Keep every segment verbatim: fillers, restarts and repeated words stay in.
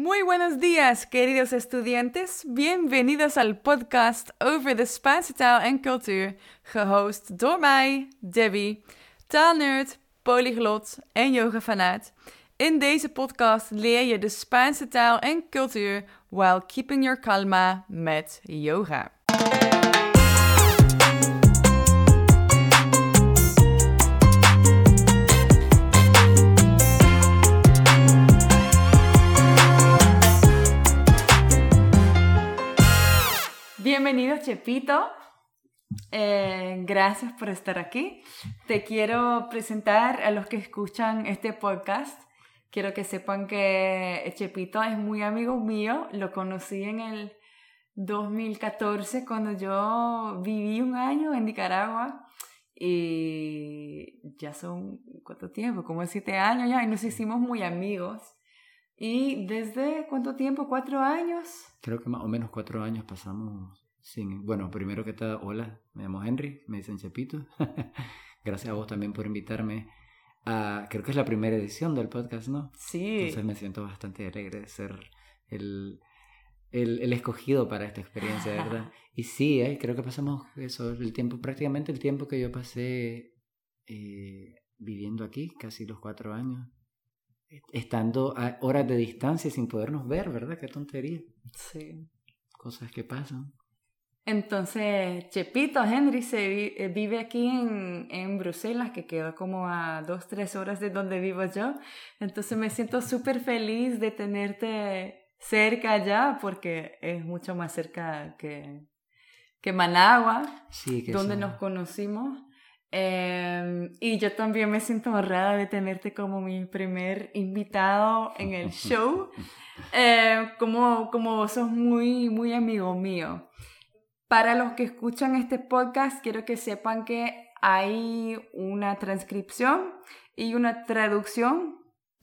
Muy buenos días, queridos estudiantes. Bienvenidos al podcast over de Spaanse taal en cultuur, gehost door mij, Debbie, taalnerd, polyglot en yogafanaat. In deze podcast leer je de Spaanse taal en cultuur while keeping your calma met yoga. Bienvenido, Chepito. Eh, gracias por estar aquí. Te quiero presentar a los que escuchan este podcast. Quiero que sepan que Chepito es muy amigo mío. Lo conocí en el dos mil catorce cuando yo viví un año en Nicaragua. Y ya son, ¿cuánto tiempo? Como siete años ya. Y nos hicimos muy amigos. ¿Y desde cuánto tiempo? ¿Cuatro años? Creo que más o menos cuatro años pasamos sin... Bueno, primero que todo, hola, me llamo Henry, me dicen Chepito. Gracias a vos también por invitarme a... Creo que es la primera edición del podcast, ¿no? Sí. Entonces me siento bastante alegre de ser el, el, el escogido para esta experiencia, ¿verdad? Y sí, eh, creo que pasamos eso, el tiempo, prácticamente el tiempo que yo pasé eh, viviendo aquí, casi los cuatro años. Estando a horas de distancia sin podernos ver, ¿verdad? Qué tontería. Sí. Cosas que pasan. Entonces, Chepito, Henry, se vi, vive aquí en, en Bruselas, que queda como a dos, tres horas de donde vivo yo. Entonces me siento súper feliz de tenerte cerca allá, porque es mucho más cerca que, que Managua, sí, que donde eso... nos conocimos. Eh, y yo también me siento honrada de tenerte como mi primer invitado en el show, eh, como, como vos sos muy, muy amigo mío. Para los que escuchan este podcast, quiero que sepan que hay una transcripción y una traducción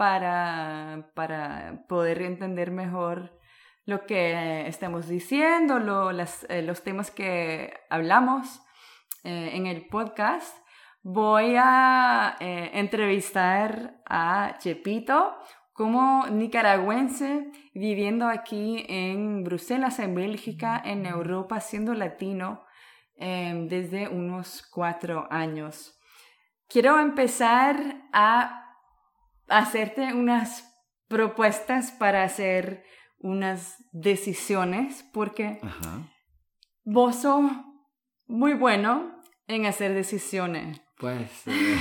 para, para poder entender mejor lo que estamos diciendo, lo, las, eh, los temas que hablamos eh, en el podcast. Voy a eh, entrevistar a Chepito como nicaragüense viviendo aquí en Bruselas, en Bélgica, en Europa, siendo latino eh, desde unos cuatro años. Quiero empezar a hacerte unas propuestas para hacer unas decisiones, porque Ajá. vos sos muy bueno en hacer decisiones. Pues, eh,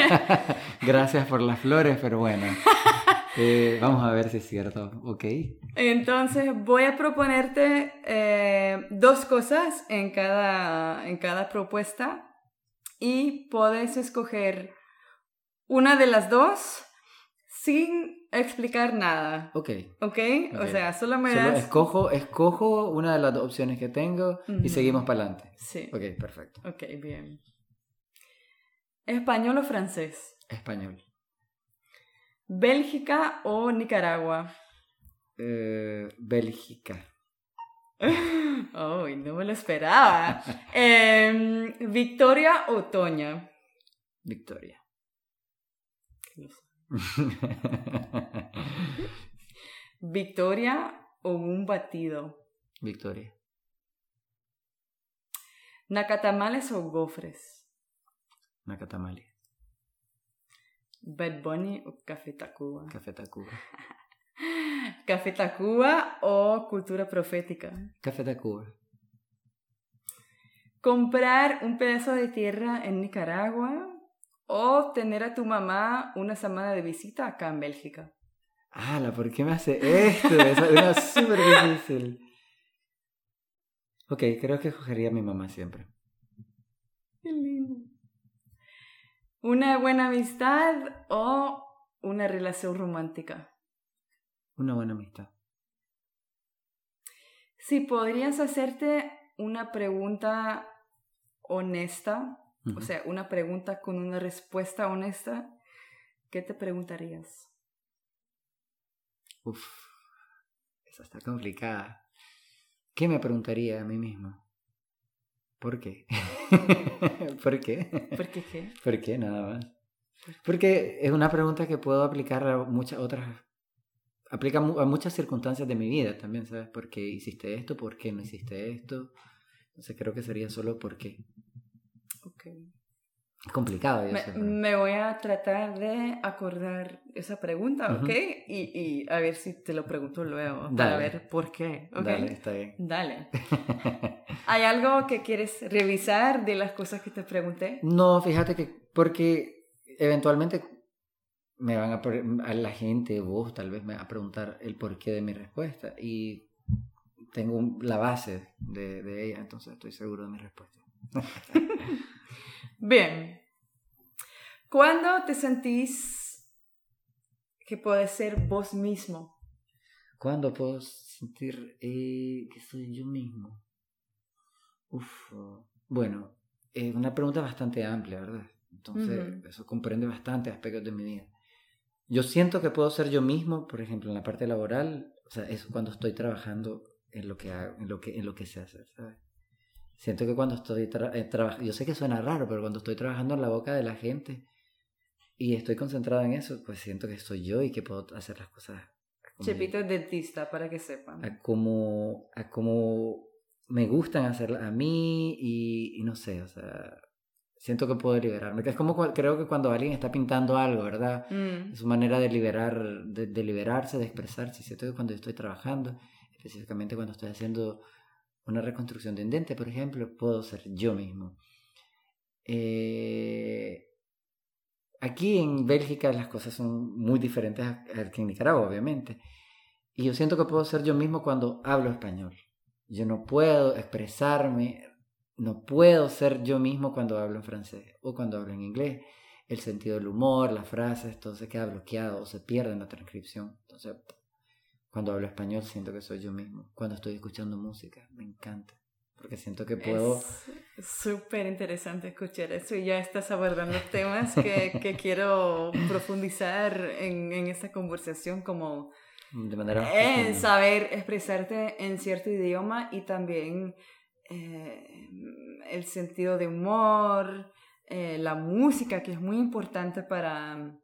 gracias por las flores, pero bueno, eh, vamos a ver si es cierto, ¿ok? Entonces voy a proponerte eh, dos cosas en cada, en cada propuesta y puedes escoger una de las dos sin explicar nada. Ok. ¿Ok? Okay. O sea, solo me Solo das... escojo, escojo una de las dos opciones que tengo y Uh-huh. seguimos para adelante. Sí. Ok, perfecto. Ok, bien. ¿Español o francés? Español. ¿Bélgica o Nicaragua? Eh, Bélgica. Oh, no me lo esperaba. eh, ¿Victoria o Toña? Victoria. ¿Victoria o un batido? Victoria. ¿Nacatamales o gofres? Nacatamale. ¿Bad Bunny o Café Tacuba? Café Tacuba. ¿Café Tacuba o cultura profética? Café Tacuba. ¿Comprar un pedazo de tierra en Nicaragua o tener a tu mamá una semana de visita acá en Bélgica? ¡Hala! ¿Por qué me hace esto? Es una súper difícil. Ok, creo que escogería a mi mamá siempre. Qué lindo. ¿Una buena amistad o una relación romántica? Una buena amistad. Si podrías hacerte una pregunta honesta, uh-huh. o sea, una pregunta con una respuesta honesta, ¿qué te preguntarías? Uf, esa está complicada. ¿Qué me preguntaría a mí mismo? ¿Por qué? ¿Por qué? ¿Por qué qué? ¿Por qué? Nada más. Porque es una pregunta que puedo aplicar a muchas otras aplica a muchas circunstancias de mi vida también, ¿sabes? ¿Por qué hiciste esto? ¿Por qué no hiciste esto? Entonces creo que sería solo por qué. Ok. Es complicado, yo me, sé. Pero... me voy a tratar de acordar esa pregunta, ¿ok? Uh-huh. Y, y a ver si te lo pregunto luego, Dale. para ver por qué, ¿ok? Dale, está bien. Dale. ¿Hay algo que quieres revisar de las cosas que te pregunté? No, fíjate que porque eventualmente me van a, a la gente, vos tal vez me va a preguntar el porqué de mi respuesta y tengo un, la base de, de ella, entonces estoy seguro de mi respuesta. Bien. ¿Cuándo te sentís que puedes ser vos mismo? ¿Cuándo puedo sentir eh, que soy yo mismo? Uf, bueno, es una pregunta bastante amplia, ¿verdad? Entonces, uh-huh. eso comprende bastantes aspectos de mi vida. Yo siento que puedo ser yo mismo, por ejemplo, en la parte laboral, o sea, es cuando estoy trabajando en lo que hago, en lo que, en lo que sé hacer, ¿sabes? Siento que cuando estoy tra- eh, trabajando, yo sé que suena raro, pero cuando estoy trabajando en la boca de la gente y estoy concentrado en eso, pues siento que soy yo y que puedo hacer las cosas. Chepito es dentista, para que sepan. A como, a como me gustan hacerlas a mí y, y no sé, o sea, siento que puedo liberarme. Es como creo que cuando alguien está pintando algo, ¿verdad? Mm. Es su manera de liberar, de, de liberarse, de expresarse. Siento que cuando yo estoy trabajando, específicamente cuando estoy haciendo una reconstrucción de un diente, por ejemplo, puedo ser yo mismo. Eh, aquí en Bélgica las cosas son muy diferentes a, a que en Nicaragua, obviamente. Y yo siento que puedo ser yo mismo cuando hablo español. Yo no puedo expresarme, no puedo ser yo mismo cuando hablo en francés o cuando hablo en inglés. El sentido del humor, las frases, todo se queda bloqueado o se pierde en la transcripción. Entonces, cuando hablo español siento que soy yo mismo. Cuando estoy escuchando música, me encanta. Porque siento que puedo... Es súper interesante escuchar eso y ya estás abordando temas que, que quiero profundizar en, en esta conversación, como de manera en saber expresarte en cierto idioma y también eh, el sentido de humor, eh, la música, que es muy importante para...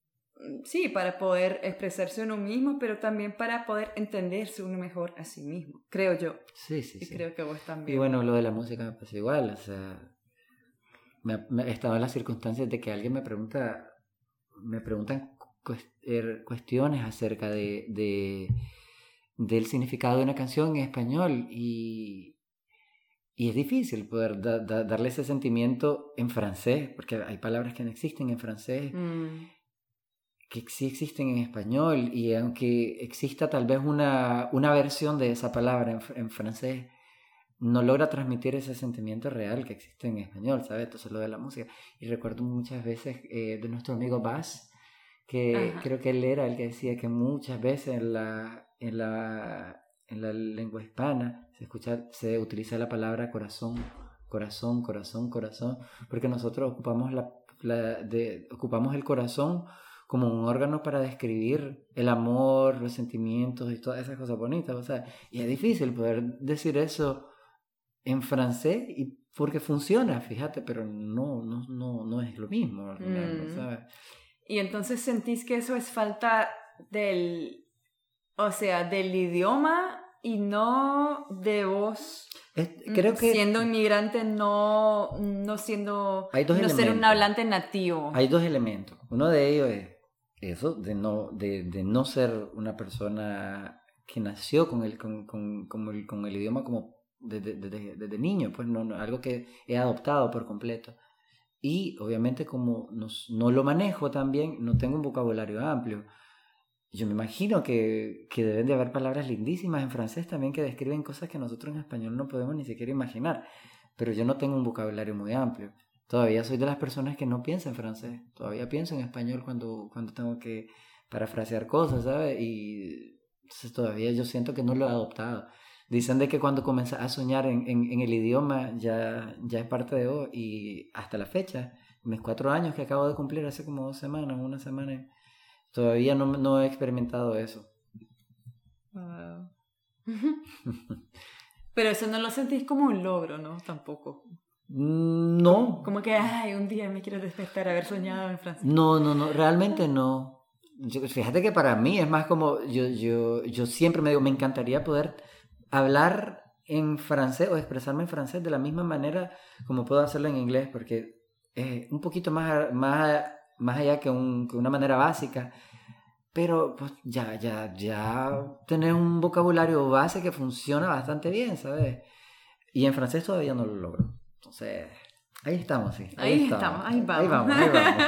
Sí, para poder expresarse uno mismo, pero también para poder entenderse uno mejor a sí mismo, creo yo. Sí, sí, y sí. creo que vos también. Y bueno, lo de la música me pasa igual, o sea, me, me he estado en las circunstancias de que alguien me pregunta, me preguntan cuestiones acerca de, de del significado de una canción en español y, y es difícil poder da, da, darle ese sentimiento en francés, porque hay palabras que no existen en francés. Mm. Que sí existen en español y aunque exista tal vez una, una versión de esa palabra en, en francés, no logra transmitir ese sentimiento real que existe en español, ¿sabes? Entonces lo de la música. Y recuerdo muchas veces eh, de nuestro amigo Bas, que Ajá. creo que él era el que decía que muchas veces en la, en la, en la lengua hispana se, escucha, se utiliza la palabra corazón, corazón, corazón, corazón, porque nosotros ocupamos, la, la de, ocupamos el corazón como un órgano para describir el amor, los sentimientos y todas esas cosas bonitas, o sea, y es difícil poder decir eso en francés y porque funciona, fíjate, pero no, no, no, no es lo mismo al final, mm. ¿sabes? Y entonces sentís que eso es falta del, o sea, del idioma y no de vos. Es, creo que siendo inmigrante, no, no siendo, hay dos no elementos. ser un hablante nativo. Hay dos elementos. Uno de ellos es eso, de no, de, de no ser una persona que nació con el, con, con, con el, con el idioma como desde, desde, desde niño, pues no, no, algo que he adoptado por completo. Y obviamente como no, no lo manejo también, no tengo un vocabulario amplio. Yo me imagino que, que deben de haber palabras lindísimas en francés también que describen cosas que nosotros en español no podemos ni siquiera imaginar. Pero yo no tengo un vocabulario muy amplio. Todavía soy de las personas que no piensan en francés. Todavía pienso en español cuando, cuando tengo que parafrasear cosas, ¿sabes? Y entonces todavía yo siento que no lo he adoptado. Dicen de que cuando comienzas a soñar en, en, en el idioma ya, ya es parte de vos. Y hasta la fecha, mis cuatro años que acabo de cumplir hace como dos semanas, una semana, todavía no, no he experimentado eso. Wow. Pero eso no lo sentís como un logro, ¿no? Tampoco. No. Como que, ay, un día me quiero despertar haber soñado en francés. No, no, no, realmente no. yo, fíjate que para mí es más como, yo, yo, yo siempre me digo, me encantaría poder hablar en francés o expresarme en francés de la misma manera como puedo hacerlo en inglés, porque es un poquito más, más, más allá que, un, que una manera básica, pero pues ya, ya, ya tener un vocabulario base que funciona bastante bien, ¿sabes? Y en francés todavía no lo logro. Entonces, ahí estamos, sí. Ahí, ahí estamos, ahí vamos. Ahí vamos, ahí vamos.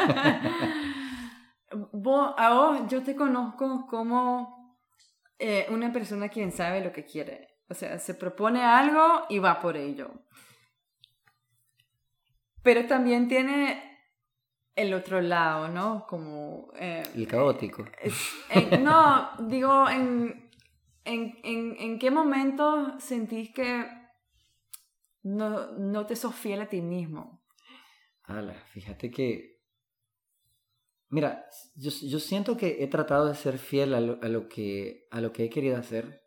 Vos, a vos, yo te conozco como eh, una persona quien sabe lo que quiere. O sea, se propone algo y va por ello. Pero también tiene el otro lado, ¿no? Como... Eh, el caótico. Eh, eh, no, digo, en, en, en, ¿en qué momento sentís que no, no te sos fiel a ti mismo? Ala, fíjate que... Mira, yo, yo siento que he tratado de ser fiel a lo, a lo, que, a lo que he querido hacer.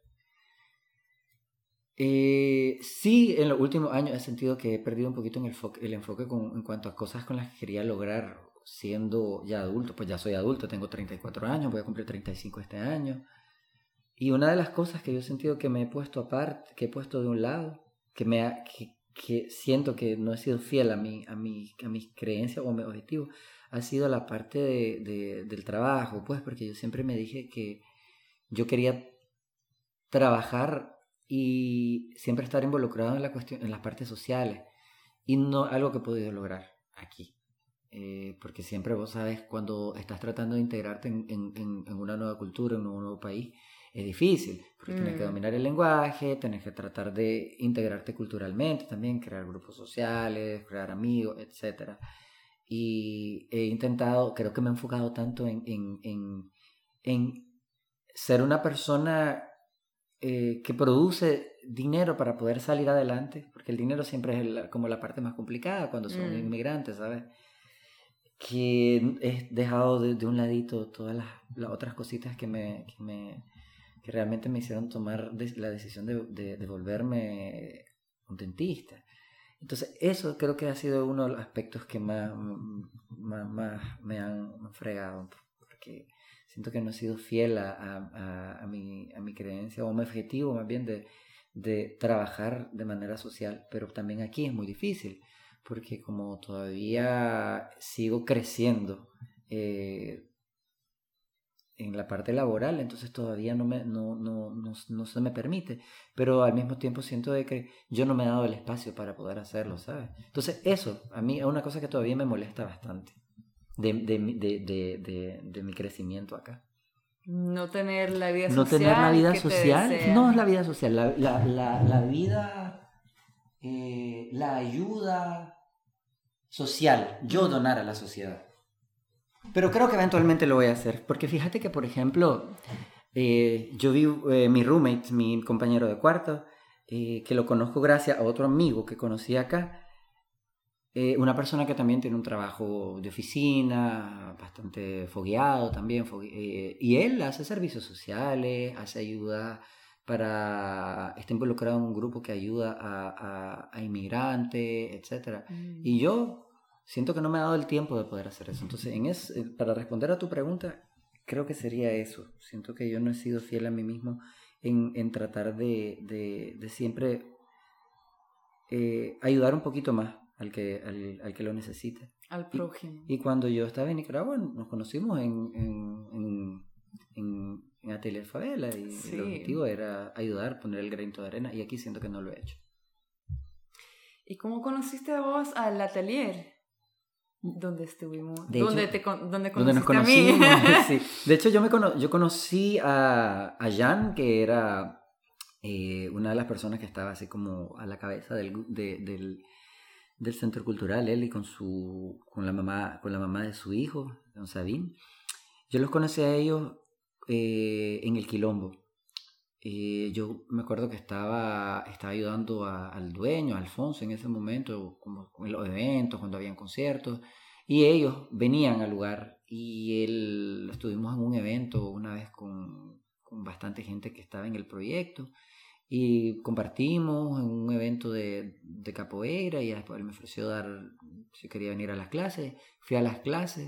Eh, sí, en los últimos años he sentido que he perdido un poquito en el, fo- el enfoque con, en cuanto a cosas con las que quería lograr siendo ya adulto. Pues ya soy adulto, tengo treinta y cuatro años, voy a cumplir treinta y cinco este año. Y una de las cosas que yo he sentido que me he puesto aparte, que he puesto de un lado, que, me ha, que, que siento que no he sido fiel a, mi, a, mi, a mis creencias o a mis objetivos, ha sido la parte de, de, del trabajo, pues porque yo siempre me dije que yo quería trabajar y siempre estar involucrado en, la cuestión, en las partes sociales, y no algo que he podido lograr aquí. Eh, porque siempre vos sabes, cuando estás tratando de integrarte en, en, en una nueva cultura, en un nuevo país, es difícil, porque mm. tienes que dominar el lenguaje, tienes que tratar de integrarte culturalmente también, crear grupos sociales, crear amigos, etcétera. Y he intentado, creo que me he enfocado tanto en, en, en, en ser una persona eh, que produce dinero para poder salir adelante, porque el dinero siempre es el, como la parte más complicada cuando son mm. inmigrantes, ¿sabes? Que he dejado de, de un ladito todas las, las otras cositas que me... Que me que realmente me hicieron tomar de, la decisión de, de, de volverme un dentista. Entonces eso creo que ha sido uno de los aspectos que más, más, más me han fregado, porque siento que no he sido fiel a, a, a, mi, a mi creencia o a mi objetivo más bien de, de trabajar de manera social, pero también aquí es muy difícil, porque como todavía sigo creciendo, eh, en la parte laboral, entonces todavía no, me, no, no, no, no se me permite, pero al mismo tiempo siento de que yo no me he dado el espacio para poder hacerlo, ¿sabes? Entonces eso, a mí es una cosa que todavía me molesta bastante de, de, de, de, de, de mi crecimiento acá. No tener la vida social. No tener la vida social, no es la vida social, la, la, la, la vida, eh, la ayuda social, yo donar a la sociedad. Pero creo que eventualmente lo voy a hacer, porque fíjate que, por ejemplo, eh, yo vi eh, mi roommate, mi compañero de cuarto, eh, que lo conozco gracias a otro amigo que conocí acá, eh, una persona que también tiene un trabajo de oficina, bastante fogueado también, fogue- eh, y él hace servicios sociales, hace ayuda para, está involucrado en un grupo que ayuda a, a, a inmigrantes, etcétera. Mm. Y yo siento que no me ha dado el tiempo de poder hacer eso. Entonces, en es, para responder a tu pregunta, creo que sería eso. Siento que yo no he sido fiel a mí mismo en, en tratar de, de, de siempre eh, ayudar un poquito más al que, al, al que lo necesite. Al prójimo. Y, y cuando yo estaba en Nicaragua, nos conocimos en, en, en, en, en Atelier Favela, y sí. El objetivo era ayudar, poner el granito de arena, y aquí siento que no lo he hecho. ¿Y cómo conociste vos al Atelier? Donde estuvimos, de donde, hecho, te, donde conociste donde nos conocimos, a mí. Sí. De hecho, yo, me cono- yo conocí a, a Jan, que era eh, una de las personas que estaba así como a la cabeza del, de, del, del centro cultural, él y con, su, con, la mamá, con la mamá de su hijo, don Sabín. Yo los conocí a ellos eh, en el Quilombo. Eh, yo me acuerdo que estaba, estaba ayudando a, al dueño, a Alfonso, en ese momento, como en los eventos, cuando habían conciertos, y ellos venían al lugar, y él, estuvimos en un evento una vez con, con bastante gente que estaba en el proyecto, y compartimos en un evento de, de capoeira, y después él me ofreció dar, si quería venir a las clases, fui a las clases,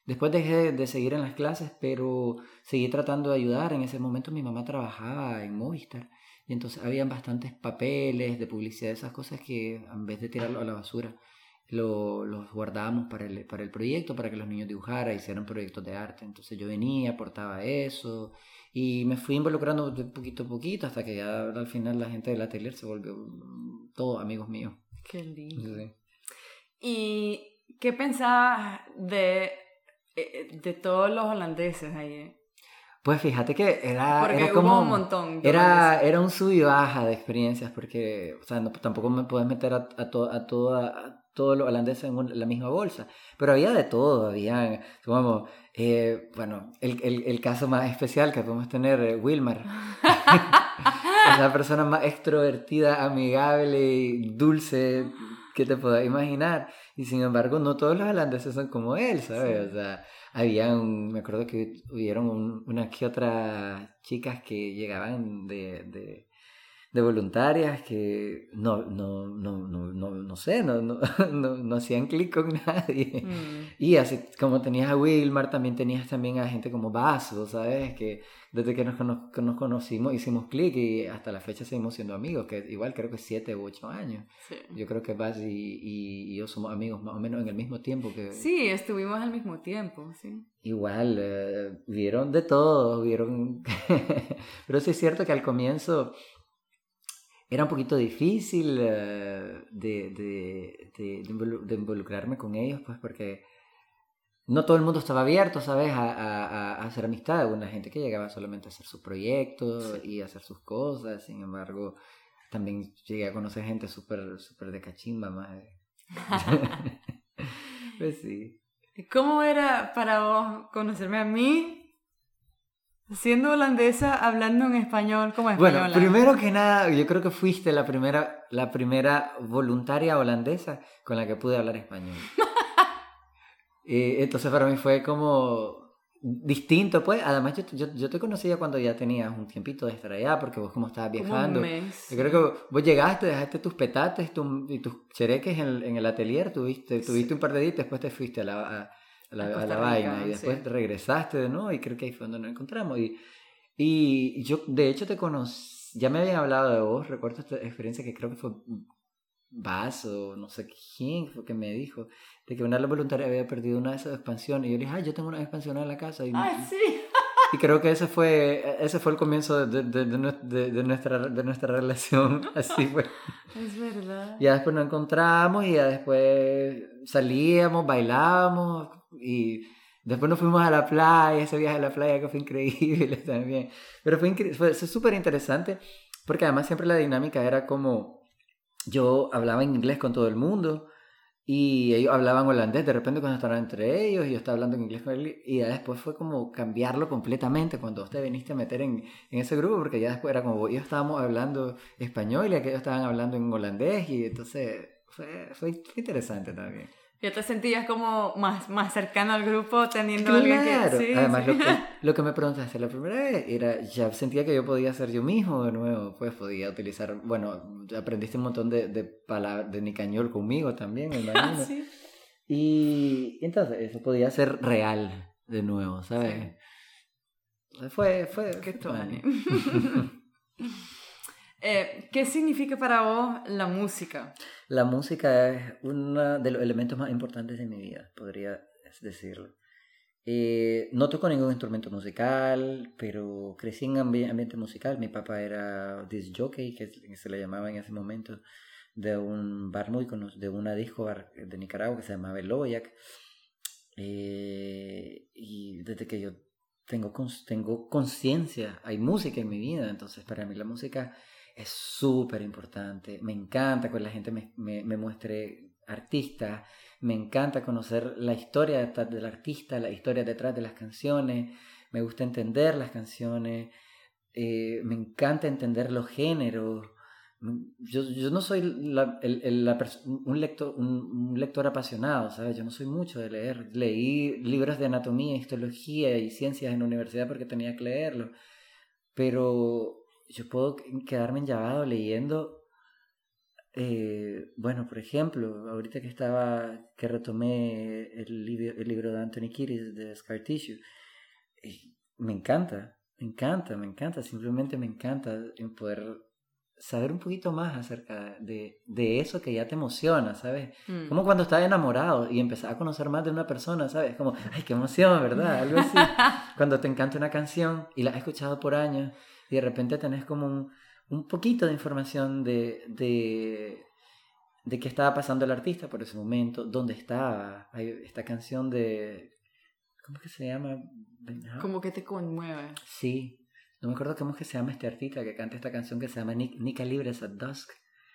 Después dejé de, de seguir en las clases, pero seguí tratando de ayudar. En ese momento mi mamá trabajaba en Movistar y entonces habían bastantes papeles de publicidad, esas cosas que en vez de tirarlo a la basura, lo, los guardábamos para el, para el proyecto, para que los niños dibujaran, hicieran proyectos de arte. Entonces yo venía, aportaba eso y me fui involucrando de poquito a poquito hasta que ya al final la gente del atelier se volvió todos amigos míos. Qué lindo. Sí. ¿Y qué pensabas de, de todos los holandeses ahí? Pues fíjate que era, porque era hubo como un montón de era, holandeses. era un sub y baja de experiencias porque, o sea, no, tampoco me puedes meter a, a, to, a, toda, a todos los holandeses en un, la misma bolsa, pero había de todo, había, como, eh, bueno, el, el, el caso más especial que podemos tener, eh, Wilmar, es la persona más extrovertida, amigable y dulce que te puedas imaginar, y sin embargo no todos los holandeses son como él, ¿sabes? Sí. O sea, habían, me acuerdo que hubieron un, unas que otras chicas que llegaban de, de, de voluntarias que no, no, no, no, no, no sé, no, no, no, no hacían clic con nadie. Mm. Y así como tenías a Wilmar, también tenías también a gente como Vaso, ¿sabes? Que desde que nos, cono- que nos conocimos hicimos clic y hasta la fecha seguimos siendo amigos, que igual creo que siete u ocho años. Sí. Yo creo que Vaz y, y, y yo somos amigos más o menos en el mismo tiempo que... Sí, estuvimos al mismo tiempo, sí. Igual, eh, vieron de todo, vieron... Pero sí es cierto que al comienzo era un poquito difícil eh, de, de, de, de, involu- de involucrarme con ellos, pues porque no todo el mundo estaba abierto, ¿sabes? A, a, a hacer amistad. Una gente que llegaba solamente a hacer sus proyectos Sí. y a hacer sus cosas. Sin embargo, también llegué a conocer gente súper súper de cachimba, más. Pues sí. ¿Cómo era para vos conocerme a mí siendo holandesa hablando en español como española? Bueno, primero que nada, yo creo que fuiste la primera, la primera voluntaria holandesa con la que pude hablar español. Eh, entonces para mí fue como distinto, pues. Además, yo, yo, yo te conocía cuando ya tenías un tiempito de estar allá, porque vos como estabas Como un viajando. mes. Yo creo que vos llegaste, dejaste tus petates tu- y tus chereques en el, en el atelier, tuviste, tuviste Sí. un par de días, después te fuiste a la, a, a la, A a Costa la Rica, vaina y después sí. regresaste de nuevo y creo que ahí fue donde nos encontramos. Y, y yo, de hecho, te conocí, ya me habían hablado de vos, recuerdo esta experiencia que creo que fue Vaz o no sé quién fue que me dijo de que una de las voluntarias había perdido una de esas expansiones y yo le dije, ah, yo tengo una expansión en la casa y, ¡Ah, sí! y creo que ese fue ese fue el comienzo de, de, de, de, de nuestra, de nuestra relación, así fue. Es verdad. Ya después nos encontramos y ya después salíamos, bailábamos y después nos fuimos a la playa, ese viaje a la playa que fue increíble también, pero fue incre- fue súper interesante porque además siempre la dinámica era como yo hablaba en inglés con todo el mundo y ellos hablaban holandés de repente cuando estaban entre ellos y yo estaba hablando en inglés con él y ya después fue como cambiarlo completamente cuando vos te viniste a meter en, en ese grupo porque ya después era como ellos estábamos hablando español y aquellos estaban hablando en holandés y entonces fue, fue, fue interesante también. Ya te sentías como más, más cercano al grupo teniendo a alguien que... Claro, Sí, además sí. lo que, lo que me preguntaste la primera vez era, ya sentía que yo podía ser yo mismo de nuevo, pues podía utilizar, bueno, aprendiste un montón de, de palabras de nicañol conmigo también, me imagino. Sí. Y entonces eso podía ser real de nuevo, ¿sabes? Sí. Fue, fue, Qué fue tuani. tuani. eh, ¿Qué significa para vos la música? La música es uno de los elementos más importantes de mi vida, podría decirlo. Eh, no toco ningún instrumento musical, pero crecí en ambi- ambiente musical. Mi papá era disc jockey, que se le llamaba en ese momento, de un bar muy conocido, de una disco bar de Nicaragua que se llamaba El Loboyac. Eh, y desde que yo tengo, cons- tengo conciencia, hay música en mi vida, entonces para mí la música es súper importante. Me encanta que la gente me, me, me muestre artistas, me encanta conocer la historia detrás del artista, la historia detrás de las canciones, me gusta entender las canciones, eh, me encanta entender los géneros. Yo, yo no soy la, el, el, la un, lector, un, un lector apasionado, ¿sabes? Yo no soy mucho de leer. Leí libros de anatomía, histología y ciencias en la universidad porque tenía que leerlos, pero yo puedo quedarme enllavado leyendo Eh, bueno, por ejemplo, ahorita que estaba, que retomé el libro, el libro de Anthony Kiedis de Scar Tissue, eh, me encanta, me encanta, me encanta, simplemente me encanta en poder saber un poquito más acerca de, de eso que ya te emociona, ¿sabes? Mm. Como cuando estás enamorado y empezás a conocer más de una persona, ¿sabes? Como, ay, qué emoción, ¿verdad? Algo así. Cuando te encanta una canción y la has escuchado por años y de repente tenés como un, un poquito de información de, de, de qué estaba pasando el artista por ese momento, dónde estaba. Hay esta canción de... ¿Cómo es que se llama? Como que te conmueve. Sí. No me acuerdo cómo es que se llama este artista que canta esta canción que se llama Nika Libres at Dusk.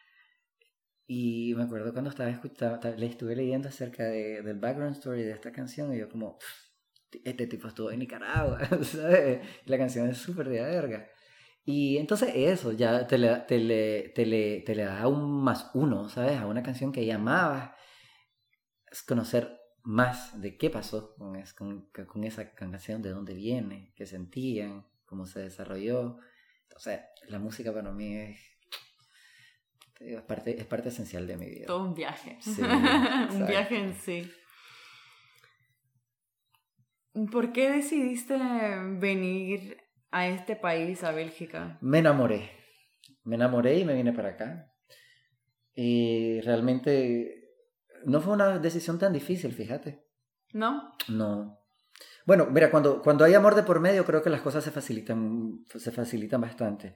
Y me acuerdo cuando estaba escuchando, le estuve leyendo acerca de, del background story de esta canción y yo como, este tipo estuvo en Nicaragua, ¿sabes? La canción es súper de verga. Y entonces eso, ya te le, te, le, te, le, te le da un más uno, ¿sabes? A una canción que ya amabas. Es conocer más de qué pasó con, es, con, con esa canción, de dónde viene, qué sentían, cómo se desarrolló. Entonces, la música para mí es, es, parte, es parte esencial de mi vida. Todo un viaje. Sí, un viaje en sí. ¿Por qué decidiste venir a este país, a Bélgica? Me enamoré. Me enamoré y me vine para acá. Y realmente no fue una decisión tan difícil, fíjate. ¿No? No. Bueno, mira, cuando, cuando hay amor de por medio, creo que las cosas se facilitan, se facilitan bastante.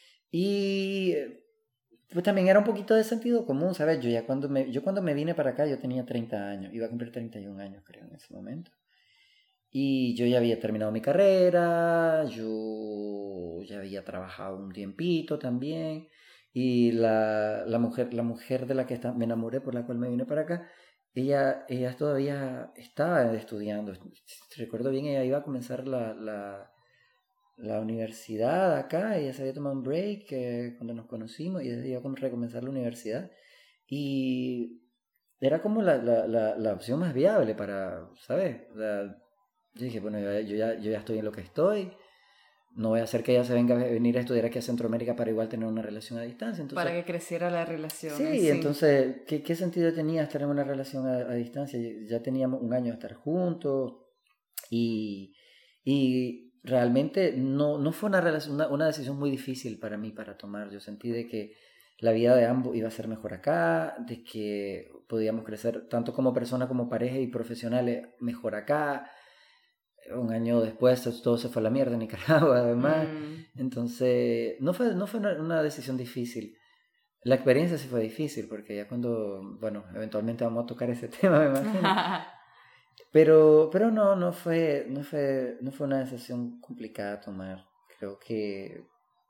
Y pues también era un poquito de sentido común, ¿sabes? Yo ya cuando me, yo cuando me vine para acá, yo tenía treinta años, iba a cumplir treinta y un años, creo, en ese momento. Y yo ya había terminado mi carrera, yo ya había trabajado un tiempito también. Y la, la, mujer, la mujer de la que está, me enamoré, por la cual me vine para acá, Ella, ella todavía estaba estudiando. Recuerdo bien, ella iba a comenzar la, la, la universidad acá. Ella se había tomado un break eh, cuando nos conocimos y ella iba a recomenzar la universidad. Y era como la, la, la, la opción más viable para, ¿sabes? La, yo dije, bueno, yo, yo, ya, yo ya estoy en lo que estoy. No voy a hacer que ella se venga a venir a estudiar aquí a Centroamérica para igual tener una relación a distancia. Entonces, para que creciera la relación. Sí, sí. Entonces, ¿qué, ¿qué sentido tenía estar en una relación a, a distancia? Ya teníamos un año de estar juntos y, y realmente no, no fue una, relación, una, una decisión muy difícil para mí para tomar. Yo sentí de que la vida de ambos iba a ser mejor acá, de que podíamos crecer tanto como persona como pareja y profesionales mejor acá. Un año después todo se fue a la mierda en Nicaragua, además. Mm. Entonces, no fue, no fue una, una decisión difícil. La experiencia sí fue difícil, porque ya cuando, bueno, eventualmente vamos a tocar ese tema, me imagino. Pero, pero no, no fue, no fue, no fue una decisión complicada a tomar. Creo que,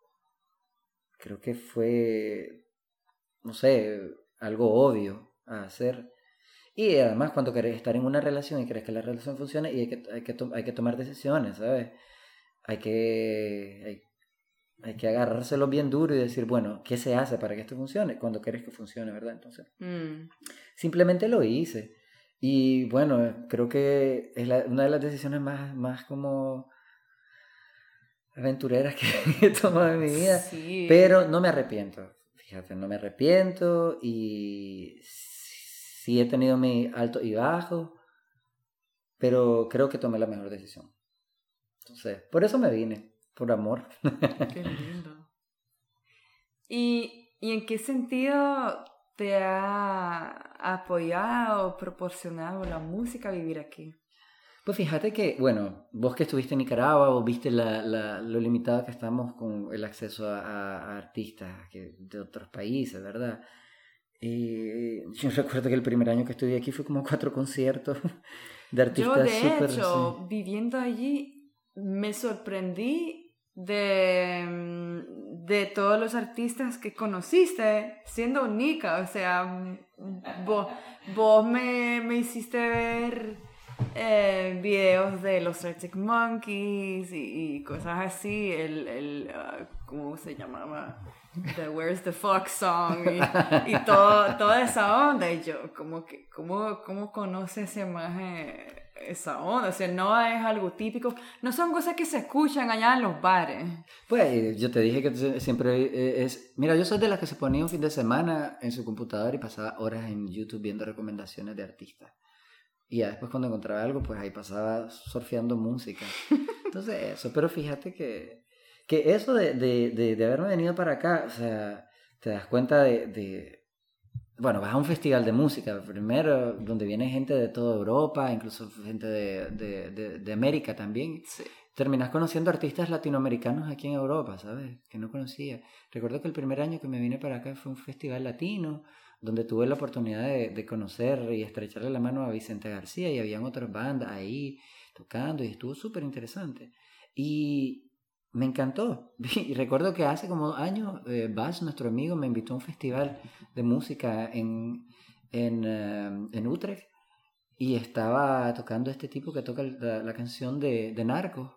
creo que fue, no sé, algo obvio a hacer. Y además cuando querés estar en una relación y querés que la relación funcione, y hay que, hay que, to- hay que tomar decisiones, ¿sabes? Hay que, hay, hay que agarrárselo bien duro y decir, bueno, ¿qué se hace para que esto funcione? Cuando querés que funcione, ¿verdad? Entonces, mm. simplemente lo hice. Y bueno, creo que es la, una de las decisiones más, más como aventureras que he tomado en mi vida. Sí. Pero no me arrepiento, fíjate, no me arrepiento y... Sí he tenido mi alto y bajo, pero creo que tomé la mejor decisión. Entonces, por eso me vine, por amor. Qué lindo. ¿Y, y en qué sentido te ha apoyado o proporcionado la música a vivir aquí? Pues fíjate que, bueno, vos que estuviste en Nicaragua, vos viste la, la, lo limitado que estamos con el acceso a, a, a artistas que, de otros países, ¿verdad? Eh, yo recuerdo que el primer año que estudié aquí fue como cuatro conciertos de artistas. Yo de super, hecho, sí. viviendo allí, me sorprendí de, de todos los artistas que conociste siendo Nica. O sea, vos, vos me, me hiciste ver eh, videos de los Arctic Monkeys y, y cosas así. El, el, uh, ¿cómo se llamaba? The Where's the Fox Song y, y todo, toda esa onda. Y yo, como que, ¿cómo, cómo conoce ese maje esa onda, o sea, no es algo típico, no son cosas que se escuchan allá en los bares. Pues yo te dije que siempre es... Mira, yo soy de las que se ponía un fin de semana en su computadora y pasaba horas en YouTube viendo recomendaciones de artistas. Y ya después cuando encontraba algo, pues ahí pasaba surfeando música. Entonces eso, pero fíjate que, que eso de, de, de, de haberme venido para acá, o sea, te das cuenta de... de bueno, vas a un festival de música, primero, donde viene gente de toda Europa, incluso gente de, de, de, de América también. Sí. Terminas conociendo artistas latinoamericanos aquí en Europa, ¿sabes? Que no conocía. Recuerdo que el primer año que me vine para acá fue un festival latino, donde tuve la oportunidad de, de conocer y estrecharle la mano a Vicente García, y habían otras bandas ahí tocando, y estuvo súper interesante. Y me encantó. Y recuerdo que hace como años, eh, Bas, nuestro amigo, me invitó a un festival de música en, en, uh, en Utrecht, y estaba tocando este tipo que toca la, la canción de, de Narcos,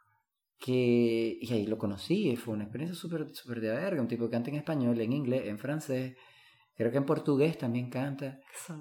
que, y ahí lo conocí, y fue una experiencia súper super de verga, un tipo que canta en español, en inglés, en francés, creo que en portugués también canta,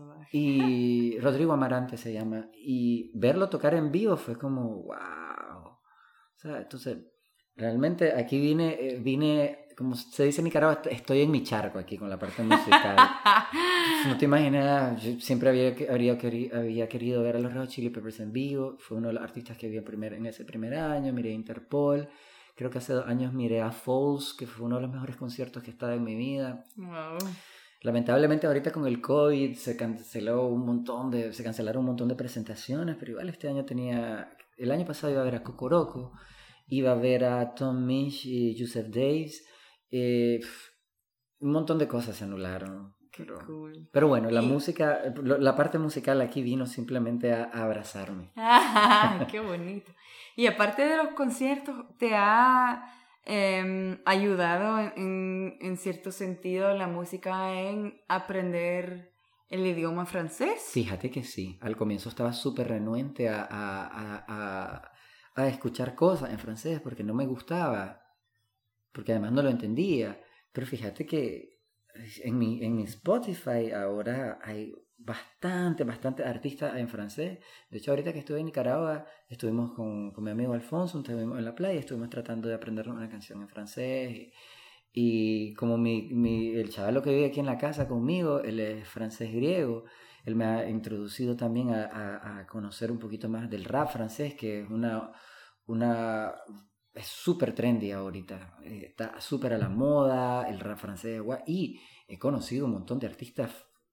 y Rodrigo Amarante se llama, y verlo tocar en vivo fue como wow. O sea, entonces realmente aquí vine, vine, como se dice en Nicaragua, estoy en mi charco aquí con la parte musical. No te imaginas, yo siempre había, había, había querido ver a los Red Hot Chili Peppers en vivo. Fue uno de los artistas que vi en, primer, en ese primer año. Miré a Interpol. Creo que hace dos años miré a Falls, que fue uno de los mejores conciertos que he estado en mi vida. Wow. Lamentablemente ahorita con el COVID se canceló un montón de, se cancelaron un montón de presentaciones, pero igual este año tenía, el año pasado iba a ver a Cocoroco, iba a ver a Tom Misch y Joseph Davis, eh, un montón de cosas se anularon. Pero, cool. Pero bueno, la y... música, la parte musical aquí vino simplemente a, a abrazarme. ¡Ah, qué bonito! Y aparte de los conciertos, ¿te ha eh, ayudado en, en cierto sentido la música en aprender el idioma francés? Fíjate que sí. Al comienzo estaba súper renuente a, a, a, a, a escuchar cosas en francés porque no me gustaba, porque además no lo entendía. Pero fíjate que en mi, en mi Spotify ahora hay bastante, bastante artistas en francés. De hecho, ahorita que estuve en Nicaragua, estuvimos con, con mi amigo Alfonso, estuvimos en la playa, estuvimos tratando de aprender una canción en francés. Y, y como mi, mi, el chaval que vive aquí en la casa conmigo, él es francés griego, él me ha introducido también a, a, a conocer un poquito más del rap francés, que es una... una es súper trendy ahorita, está súper a la moda, el rap francés, y he conocido un montón de artistas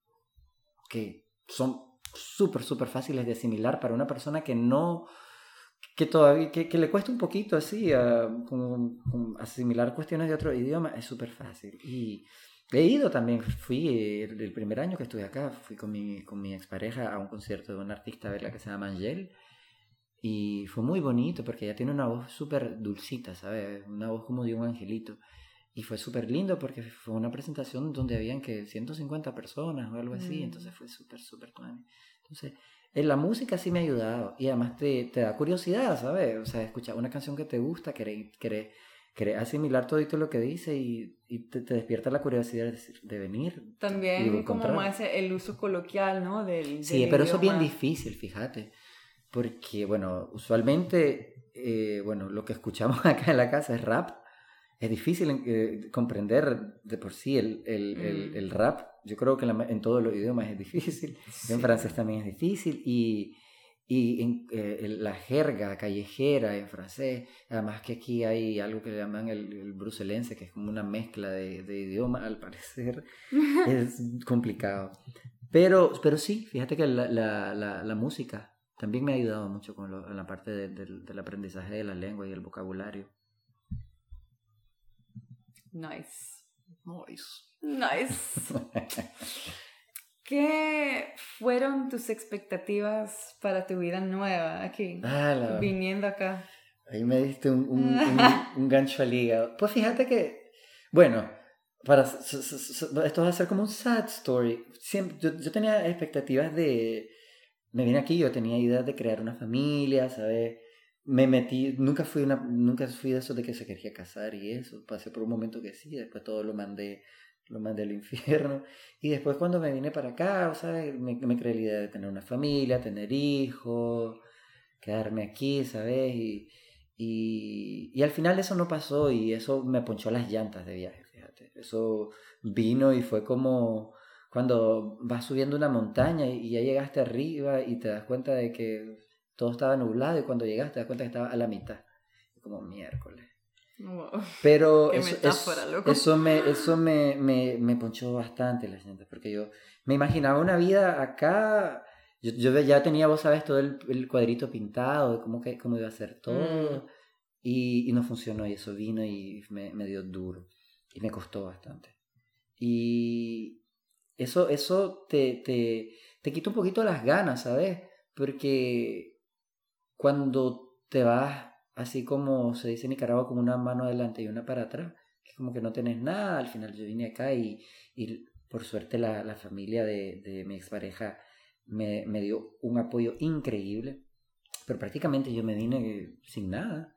que son súper, súper fáciles de asimilar para una persona que no, que todavía, que, que le cuesta un poquito así, uh, como, como asimilar cuestiones de otro idioma, es súper fácil. Y he ido también, fui el, el primer año que estuve acá, fui con mi, con mi expareja a un concierto de una artista verla que se llama Angel. Y fue muy bonito porque ella tiene una voz súper dulcita, ¿sabes? Una voz como de un angelito. Y fue súper lindo porque fue una presentación donde habían que ciento cincuenta personas o algo así. Mm. Entonces fue súper, súper tuani. Entonces, en la música sí me ha ayudado. Y además te, te da curiosidad, ¿sabes? O sea, escuchar una canción que te gusta, querer, querer, querer asimilar todo lo que dice y, y te, te despierta la curiosidad de, de venir. También como más el uso coloquial, ¿no? Del, del sí, pero idioma. Eso es bien difícil, fíjate. Porque, bueno, usualmente, eh, bueno, lo que escuchamos acá en la casa es rap. Es difícil eh, comprender de por sí el, el, mm. el, el rap. Yo creo que en, la, en todos los idiomas es difícil. Sí. En francés también es difícil. Y, y en, eh, la jerga callejera en francés. Además que aquí hay algo que le llaman el, el bruselense, que es como una mezcla de, de idiomas, al parecer. Es complicado. Pero, pero sí, fíjate que la, la, la, la música también me ha ayudado mucho con lo, en la parte de, de, del aprendizaje de la lengua y el vocabulario. Nice. Nice. Nice. ¿Qué fueron tus expectativas para tu vida nueva aquí? Ah, la... Viniendo acá. Ahí me diste un, un, un, un gancho al hígado. Pues fíjate que, bueno, para, esto va a ser como un sad story. Siempre, yo, yo tenía expectativas de... Me vine aquí, yo tenía ideas de crear una familia, ¿sabes? Me metí, nunca fui una, nunca fui de eso de que se quería casar y eso. Pasé por un momento que sí, después todo lo mandé lo más del infierno. Y después cuando me vine para acá, o sea, me, me creé la idea de tener una familia, tener hijos, quedarme aquí, ¿sabes? Y, y, y al final eso no pasó y eso me ponchó las llantas de viaje, fíjate. Eso vino y fue como cuando vas subiendo una montaña y ya llegaste arriba y te das cuenta de que todo estaba nublado y cuando llegaste te das cuenta que estaba a la mitad. Como miércoles. Wow. Pero Qué eso, metáfora, eso, loco. eso, me, eso me, me, me ponchó bastante las llantas porque yo me imaginaba una vida acá. Yo, yo ya tenía, vos sabes, todo el, el cuadrito pintado de cómo, que, cómo iba a ser todo. Mm. Y, y no funcionó y eso vino y me, me dio duro. Y me costó bastante. Y eso, eso te, te, te quita un poquito las ganas, ¿sabes? Porque cuando te vas, así como se dice en Nicaragua, con una mano adelante y una para atrás, es como que no tenés nada. Al final yo vine acá y, y por suerte la, la familia de, de mi expareja me, me dio un apoyo increíble, pero prácticamente yo me vine sin nada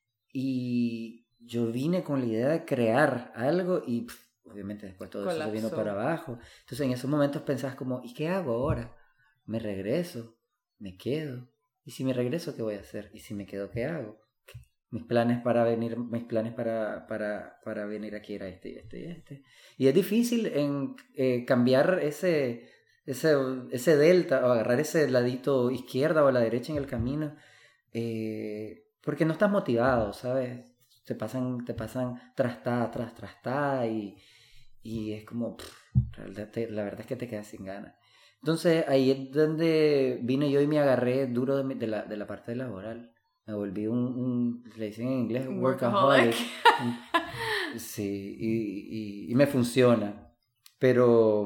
y yo vine con la idea de crear algo y pff, obviamente después todo Colapsó. Eso se vino para abajo. Entonces en esos momentos pensás como, ¿y qué hago ahora? ¿Me regreso? ¿Me quedo? ¿Y si me regreso qué voy a hacer? ¿Y si me quedo qué hago? Mis planes para venir, mis planes para, para, para venir aquí era este y este y este. Y es difícil en, eh, cambiar ese, ese, ese delta o agarrar ese ladito izquierda o a la derecha en el camino. Eh, porque no estás motivado, ¿sabes? Te pasan, te pasan trastada tras trastada y, y es como, pff, la verdad es que te quedas sin ganas. Entonces ahí es donde vine yo y me agarré duro de, mi, de, la, de la parte laboral. Me volví un, un le dicen en inglés, workaholic. Sí, y, y, y me funciona. Pero,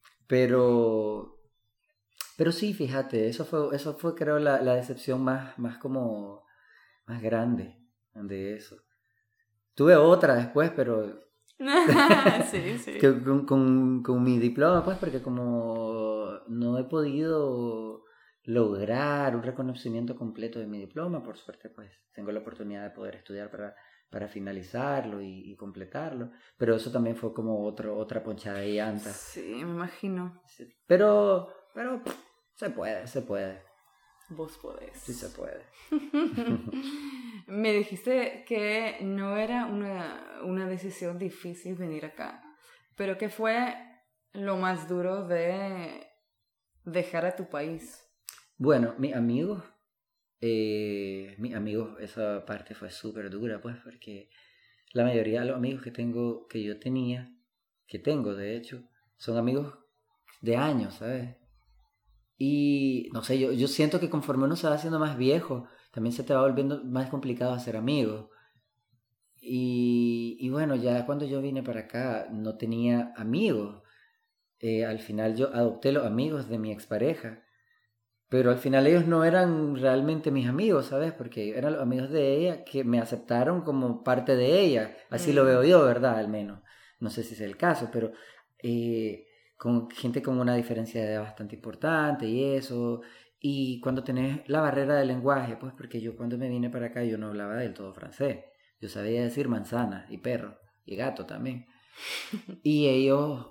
pero, pero sí, fíjate, eso fue, eso fue creo la, la decepción más, más como, más grande de eso. Tuve otra después, pero sí, sí. con, con, con mi diploma, pues, porque como no he podido lograr un reconocimiento completo de mi diploma, por suerte, pues, tengo la oportunidad de poder estudiar para, para finalizarlo y, y completarlo, pero eso también fue como otro, otra ponchada de llantas. Sí, me imagino. Sí. Pero, pero, pff, se puede, se puede. Vos podés. Sí se puede. Me dijiste que no era una, una decisión difícil venir acá, pero ¿qué fue lo más duro de dejar a tu país? Bueno, mis amigos, eh, mis amigos, esa parte fue súper dura, pues, porque la mayoría de los amigos que tengo, que yo tenía, que tengo de hecho, son amigos de años, ¿sabes? Y no sé, yo, yo siento que conforme uno se va haciendo más viejo, también se te va volviendo más complicado hacer amigos. Y, y bueno, ya cuando yo vine para acá no tenía amigos. Eh, al final yo adopté los amigos de mi expareja. Pero al final ellos no eran realmente mis amigos, ¿sabes? Porque eran los amigos de ella que me aceptaron como parte de ella. Así mm. lo veo yo, ¿verdad? Al menos. No sé si es el caso, pero... Eh, con gente con una diferencia de edad bastante importante y eso, y cuando tenés la barrera del lenguaje, pues porque yo cuando me vine para acá yo no hablaba del todo francés, yo sabía decir manzana y perro y gato también, y ellos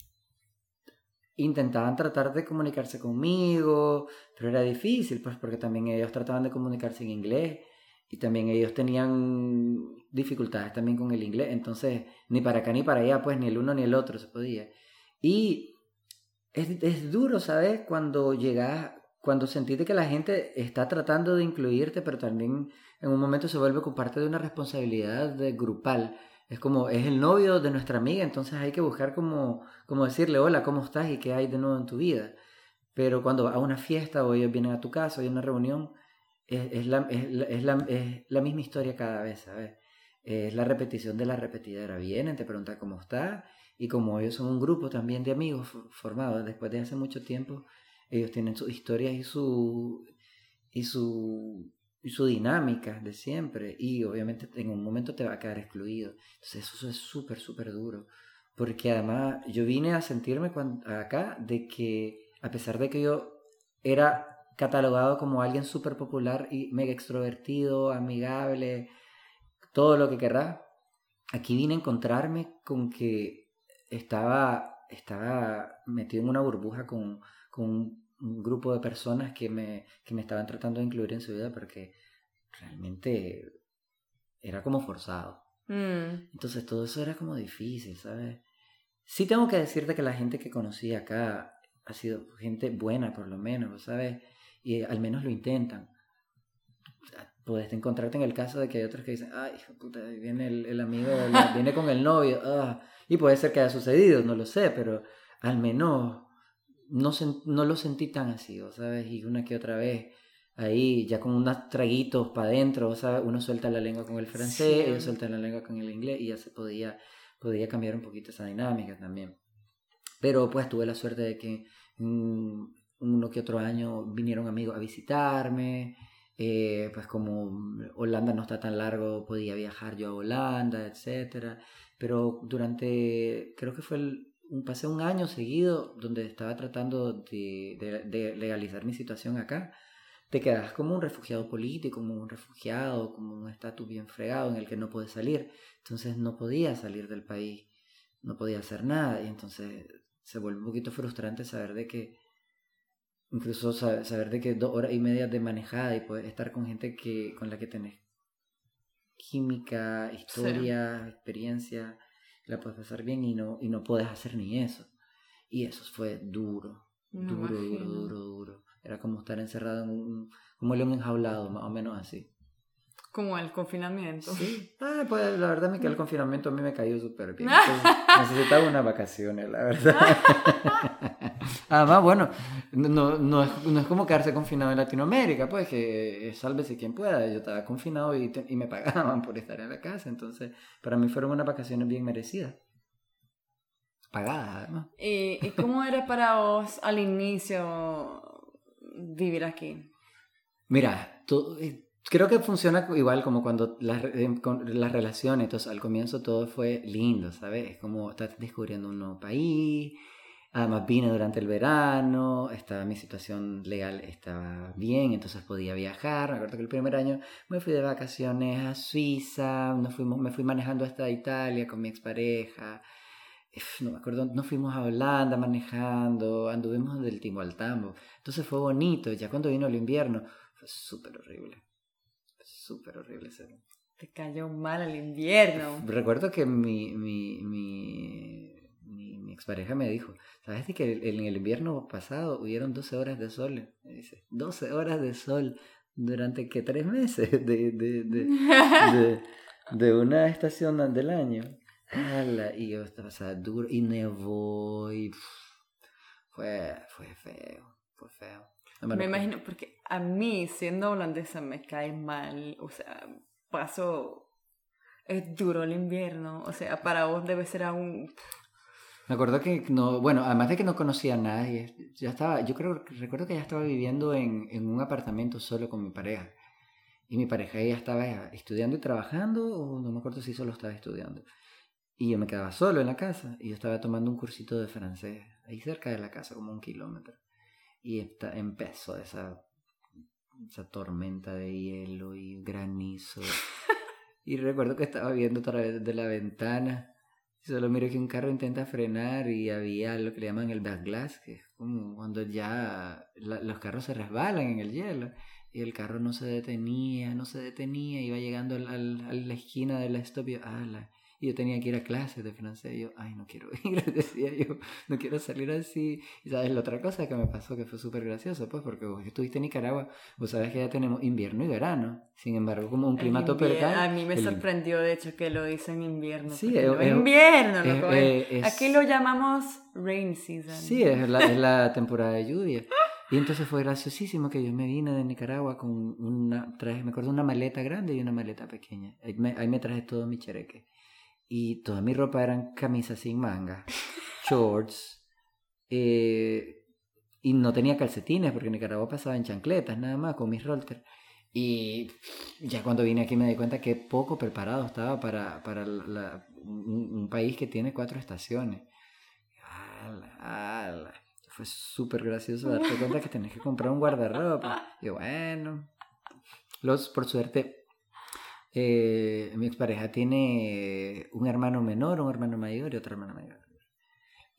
intentaban tratar de comunicarse conmigo, pero era difícil, pues porque también ellos trataban de comunicarse en inglés, y también ellos tenían dificultades también con el inglés, entonces ni para acá ni para allá, pues ni el uno ni el otro se podía. Y es, es duro, ¿sabes? Cuando llegas, cuando sentís que la gente está tratando de incluirte, pero también en un momento se vuelve con parte de una responsabilidad de grupal. Es como, es el novio de nuestra amiga, entonces hay que buscar como, como decirle, hola, ¿cómo estás? Y qué hay de nuevo en tu vida. Pero cuando vas a una fiesta o ellos vienen a tu casa o hay una reunión, es, es, la, es, la, es, la, es la misma historia cada vez, ¿sabes? Es la repetición de la repetidera. Vienen, te preguntan cómo estás. Y como ellos son un grupo también de amigos formados después de hace mucho tiempo, ellos tienen sus historias y su, y su, y su dinámica de siempre. Y obviamente en un momento te va a quedar excluido. Entonces eso es súper, súper duro. Porque además yo vine a sentirme cuando, acá de que a pesar de que yo era catalogado como alguien súper popular y mega extrovertido, amigable, todo lo que querrás, aquí vine a encontrarme con que estaba, estaba metido en una burbuja con, con un, un grupo de personas que me, que me estaban tratando de incluir en su vida porque realmente era como forzado. Mm. Entonces todo eso era como difícil, ¿sabes? Sí tengo que decirte que la gente que conocí acá ha sido gente buena por lo menos, ¿sabes? Y al menos lo intentan. Puedes encontrarte en el caso de que hay otros que dicen, ay, hijo de puta, viene el, el amigo, el, viene con el novio, ah. Y puede ser que haya sucedido, no lo sé, pero al menos no, sen, no lo sentí tan así, ¿sabes? Y una que otra vez, ahí ya con unos traguitos para adentro, ¿sabes? Uno suelta la lengua con el francés, Sí. ellos sueltan la lengua con el inglés y ya se podía, podía cambiar un poquito esa dinámica también. Pero pues tuve la suerte de que um, uno que otro año vinieron amigos a visitarme. Eh, pues como Holanda no está tan largo, podía viajar yo a Holanda, etcétera. Pero durante, creo que fue el, un, pasé un año seguido donde estaba tratando de, de, de legalizar mi situación acá. Te quedas como un refugiado político, como un refugiado, como un estatus bien fregado en el que no puedes salir. Entonces no podía salir del país, no podía hacer nada. Y entonces se vuelve un poquito frustrante saber de que incluso saber de que dos horas y media de manejada y poder estar con gente que, con la que tenés química, historia, sí. experiencia, la puedes pasar bien y no, y no puedes hacer ni eso. Y eso fue duro, Me duro, imagino. duro, duro, duro. Era como estar encerrado en un, como un león enjaulado, más o menos así. Como el confinamiento. Sí, ah, pues la verdad es que el confinamiento a mí me cayó súper bien. Entonces, necesitaba unas vacaciones, la verdad. Además, bueno, no, no, es, no es como quedarse confinado en Latinoamérica, pues que sálvese quien pueda. Yo estaba confinado y, te, y me pagaban por estar en la casa, entonces para mí fueron unas vacaciones bien merecidas. Pagadas, además. ¿Y, ¿Y cómo era para vos al inicio vivir aquí? Mira, todo... Creo que funciona igual como cuando las, las relaciones, entonces al comienzo todo fue lindo, ¿sabes? Es como estás descubriendo un nuevo país, además vine durante el verano, estaba, mi situación legal estaba bien, entonces podía viajar. Me acuerdo que el primer año me fui de vacaciones a Suiza, nos fuimos, me fui manejando hasta Italia con mi expareja, no me acuerdo, nos fuimos a Holanda manejando, anduvimos del timo al tambo, entonces fue bonito. Ya cuando vino el invierno fue súper horrible. Súper horrible ser. Te cayó mal el invierno. Recuerdo que mi, mi, mi, mi, mi expareja me dijo, ¿sabes que en el invierno pasado hubieron doce horas de sol? Me dice, doce horas de sol durante que tres meses de, de, de, de, de una estación del año. ¡Hala! Y yo estaba, o sea, duro y nevó y pff, fue, fue feo, fue feo. Me, me imagino, porque a mí, siendo holandesa, me cae mal. O sea, paso... Es duro el invierno. O sea, para vos debe ser aún... Me acuerdo que no... Bueno, además de que no conocía a nadie, ya estaba... Yo creo, recuerdo que ya estaba viviendo en, en un apartamento solo con mi pareja. Y mi pareja ella estaba estudiando y trabajando, o no me acuerdo si solo estaba estudiando. Y yo me quedaba solo en la casa. Y yo estaba tomando un cursito de francés, ahí cerca de la casa, como un kilómetro. Y esta, empezó esa, esa tormenta de hielo y granizo. Y recuerdo que estaba viendo a través de la ventana. Y solo miro que un carro intenta frenar y había lo que le llaman el backglass, que es como cuando ya la, los carros se resbalan en el hielo. Y el carro no se detenía, no se detenía. Iba llegando al, al, a la esquina de la stop y yo, ¡ala! Y yo tenía que ir a clases de francés. Y yo, ay, no quiero ir, decía yo, no quiero salir así. Y sabes, la otra cosa que me pasó que fue súper gracioso, pues, porque vos estuviste en Nicaragua, vos sabés que ya tenemos invierno y verano. Sin embargo, como un clima tropical. A mí me el... sorprendió, de hecho, que lo dicen invierno. Sí, es, no es invierno, es, loco. Es, es, Aquí lo llamamos rain season. Sí, es la, es la temporada de lluvia. Y entonces fue graciosísimo que yo me vine de Nicaragua con una, traje, me acuerdo, una maleta grande y una maleta pequeña. Ahí me, ahí me traje todo mi chereque. Y toda mi ropa eran camisas sin manga, shorts, eh, y no tenía calcetines porque en Nicaragua pasaba en chancletas nada más con mis rollers. Y ya cuando vine aquí me di cuenta que poco preparado estaba para, para la, un, un país que tiene cuatro estaciones. ¡Hala, hala! Fue súper gracioso darte cuenta que tenés que comprar un guardarropa. Y bueno, los, por suerte... Eh, mi expareja tiene un hermano menor, un hermano mayor y otro hermano mayor.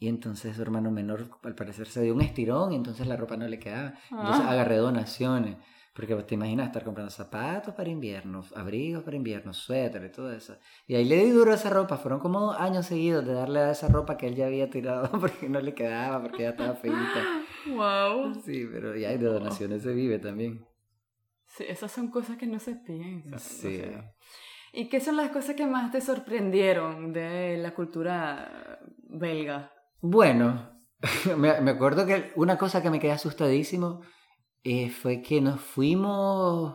Y entonces su hermano menor al parecer se dio un estirón y entonces la ropa no le quedaba. Entonces agarré donaciones. Porque te imaginas estar comprando zapatos para invierno, abrigos para invierno, suéter y todo eso. Y ahí le di duro a esa ropa. Fueron como dos años seguidos de darle a esa ropa que él ya había tirado porque no le quedaba, porque ya estaba feita. Wow. Sí, pero ya de donaciones se vive también. Sí, esas son cosas que no se piensan. Sí. O sea. ¿Y qué son las cosas que más te sorprendieron de la cultura belga? Bueno, me, me acuerdo que una cosa que me quedé asustadísimo eh, fue que nos fuimos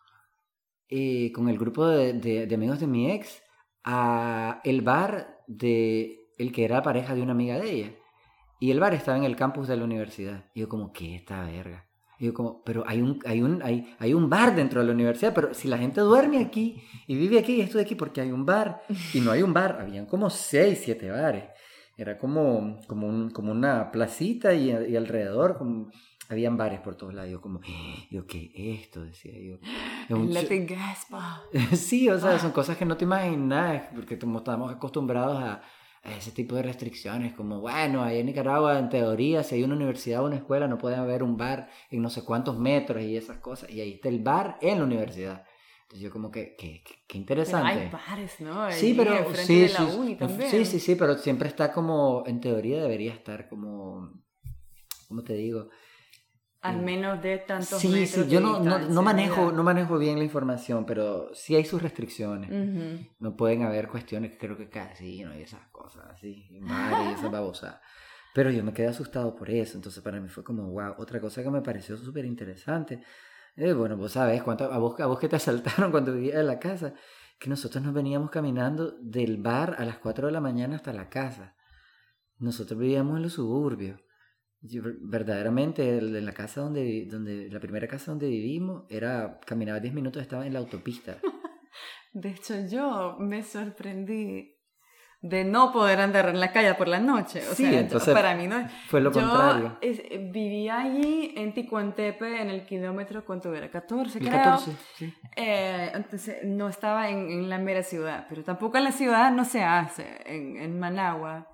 eh, con el grupo de, de, de amigos de mi ex a el bar de el que era pareja de una amiga de ella. Y el bar estaba en el campus de la universidad. Y yo como, ¿qué esta verga? Y yo como, pero hay un, hay, un, hay, hay un bar dentro de la universidad, pero si la gente duerme aquí y vive aquí y estoy aquí porque hay un bar. Y no hay un bar, habían como seis, siete bares. Era como, como, un, como una placita y, y alrededor como, habían bares por todos lados. Yo como, yo, ¿qué es esto? Decía yo. El Latin Gaspa. Sí, o sea, son cosas que no te imaginas porque como estamos acostumbrados a a ese tipo de restricciones, como, bueno, ahí en Nicaragua, en teoría, si hay una universidad o una escuela, no puede haber un bar en no sé cuántos metros y esas cosas, y ahí está el bar en la universidad. Entonces yo como que, que, que interesante. Pero hay bares, ¿no? Sí, pero, enfrente sí, de la sí, uni también. sí, sí, sí, pero siempre está como, en teoría debería estar como, ¿cómo te digo? Al menos de tantos sí, metros. Sí, sí, yo no, no, no, manejo, no manejo bien la información, pero sí hay sus restricciones. Uh-huh. No pueden haber cuestiones, creo que casi, no hay esas cosas así, madre, y esas babosas. Pero yo me quedé asustado por eso, entonces para mí fue como, wow. Otra cosa que me pareció súper interesante, eh, bueno, vos sabés, cuánto, a, vos, a vos que te asaltaron cuando vivías en la casa, que nosotros nos veníamos caminando del bar a las cuatro de la mañana hasta la casa. Nosotros vivíamos en los suburbios. Yo, verdaderamente en la casa donde, donde la primera casa donde vivimos era caminaba diez minutos, estaba en la autopista. De hecho yo me sorprendí de no poder andar en la calle por la noche, o sí, sea, entonces yo, para mí no fue lo yo contrario. Es, vivía allí en Ticuantepe en el kilómetro, ¿cuánto era? catorce el creo. catorce, sí. Eh, entonces no estaba en, en la mera ciudad, pero tampoco en la ciudad no se hace, en, en Managua.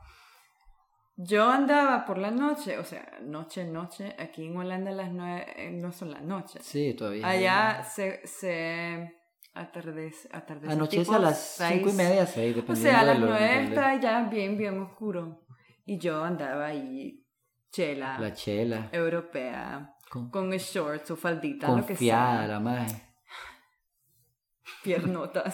Yo andaba por la noche, o sea, noche, noche, aquí en Holanda las nueve no son las noches. Sí, todavía. Allá se, se atardece, atardece. Anochece a las seis, cinco y media, seis, dependiendo. O sea, a las de nueve está ya bien, bien oscuro. Y yo andaba ahí, chela. La chela. Europea, con, con shorts o faldita, confiada, lo que sea. la madre. Piernotas.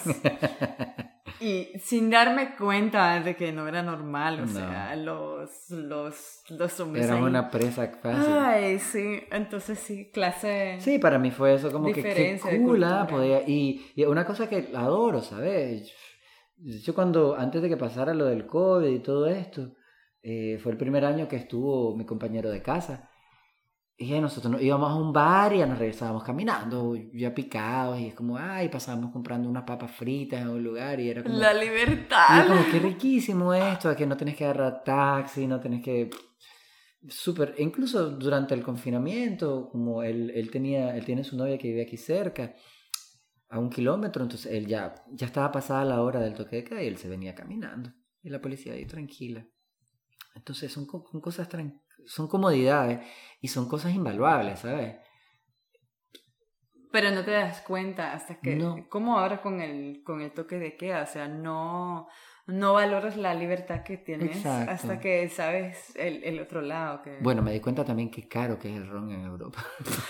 Y sin darme cuenta de que no era normal, o no. sea, los, los, los hombres era ahí. una presa fácil. Ay, sí, entonces sí, clase. Sí, para mí fue eso, como que qué cool, podía, y, y una cosa que adoro, ¿sabes? Yo cuando, antes de que pasara lo del COVID y todo esto, eh, fue el primer año que estuvo mi compañero de casa. Y nosotros nos íbamos a un bar y ya nos regresábamos caminando, ya picados, y es como, ay, pasábamos comprando unas papas fritas en un lugar y era como... La libertad. Y como, qué riquísimo esto, que no tenés que agarrar taxi, no tenés que... Súper, incluso durante el confinamiento, como él, él, tenía, él tiene su novia que vive aquí cerca, a un kilómetro, entonces él ya, ya estaba pasada la hora del toque de queda y él se venía caminando. Y la policía ahí tranquila. Entonces son, son cosas tranquilas. Son comodidades y son cosas invaluables, ¿sabes? Pero no te das cuenta hasta que... No. Como ahora con el, con el toque de queda, o sea, no, no valoras la libertad que tienes. Exacto. Hasta que sabes el, el otro lado. Que... Bueno, me di cuenta también qué caro que es el ron en Europa.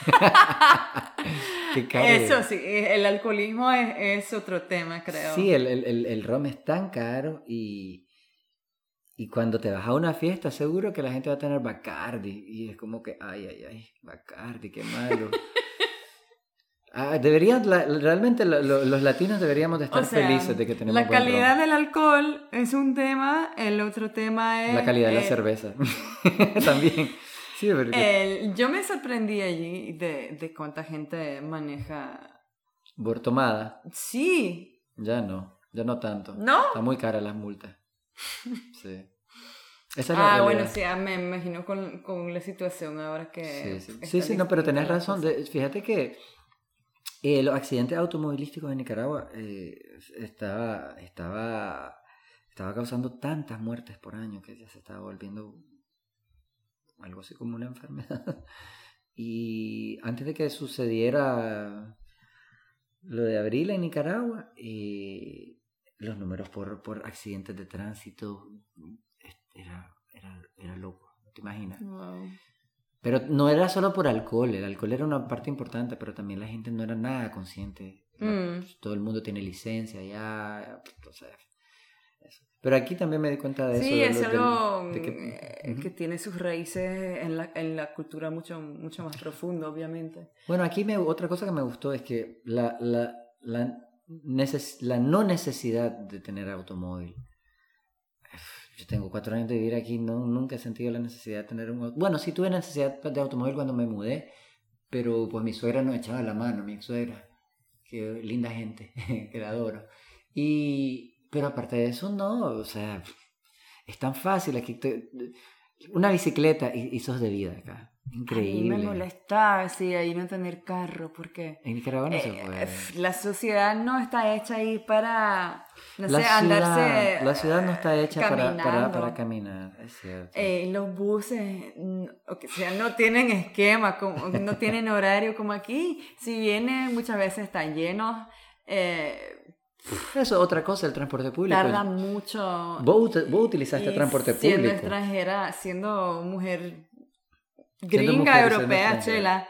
Qué caro Eso es. sí, el alcoholismo es, es otro tema, creo. Sí, el, el, el, el ron es tan caro y... Y cuando te vas a una fiesta, seguro que la gente va a tener Bacardi. Y es como que, ay, ay, ay, Bacardi, qué malo. ah, deberían, la, realmente lo, lo, los latinos deberíamos de estar o sea, felices de que tenemos la buen calidad ron. del alcohol es un tema, el otro tema es... La calidad eh, de la cerveza. También. Sí, porque... el, yo me sorprendí allí de, de cuánta gente maneja... ¿Bortomada? Sí. Ya no, ya no tanto. ¿No? Está muy cara las multas. Sí. Esa es ah, la bueno, sí, me imagino con, con la situación ahora que... Sí, sí, sí, sí no, pero tenés razón. De, fíjate que eh, los accidentes automovilísticos en Nicaragua eh, estaba, estaba, estaba causando tantas muertes por año que ya se estaba volviendo algo así como una enfermedad. Y antes de que sucediera lo de abril en Nicaragua, eh, los números por, por accidentes de tránsito era, era, era loco, ¿no te imaginas? Wow. Pero no era solo por alcohol, el alcohol era una parte importante, pero también la gente no era nada consciente. Mm. Todo el mundo tiene licencia ya, o sea, eso. Pero aquí también me di cuenta de eso. Sí, de es lo, algo del, de que, que, uh-huh. que tiene sus raíces en la, en la cultura mucho, mucho más profundo, obviamente. Bueno, aquí me, otra cosa que me gustó es que la, la, la, neces, la no necesidad de tener automóvil. Yo tengo cuatro años de vivir aquí, no, nunca he sentido la necesidad de tener un automóvil. Bueno, sí tuve necesidad de automóvil cuando me mudé, pero pues mi suegra nos echaba la mano, mi ex suegra, que linda gente, que la adoro. Y, pero aparte de eso, no, o sea, es tan fácil aquí. Te, una bicicleta y, y sos de vida acá. Increíble. A mí me molesta, sí, ahí no tener carro, porque en Nicaragua no eh, se puede. La sociedad no está hecha ahí para, no la sé, ciudad, andarse La ciudad no está hecha para, para, para caminar, es cierto. Eh, los buses, o que sea, no tienen esquema, como, no tienen horario como aquí. Si vienen, muchas veces están llenos. Eh, Eso es otra cosa, el transporte público. Tarda mucho. Vos, vos utilizaste transporte siendo público. Siendo extranjera, siendo mujer siendo gringa, mujer, europea, chela,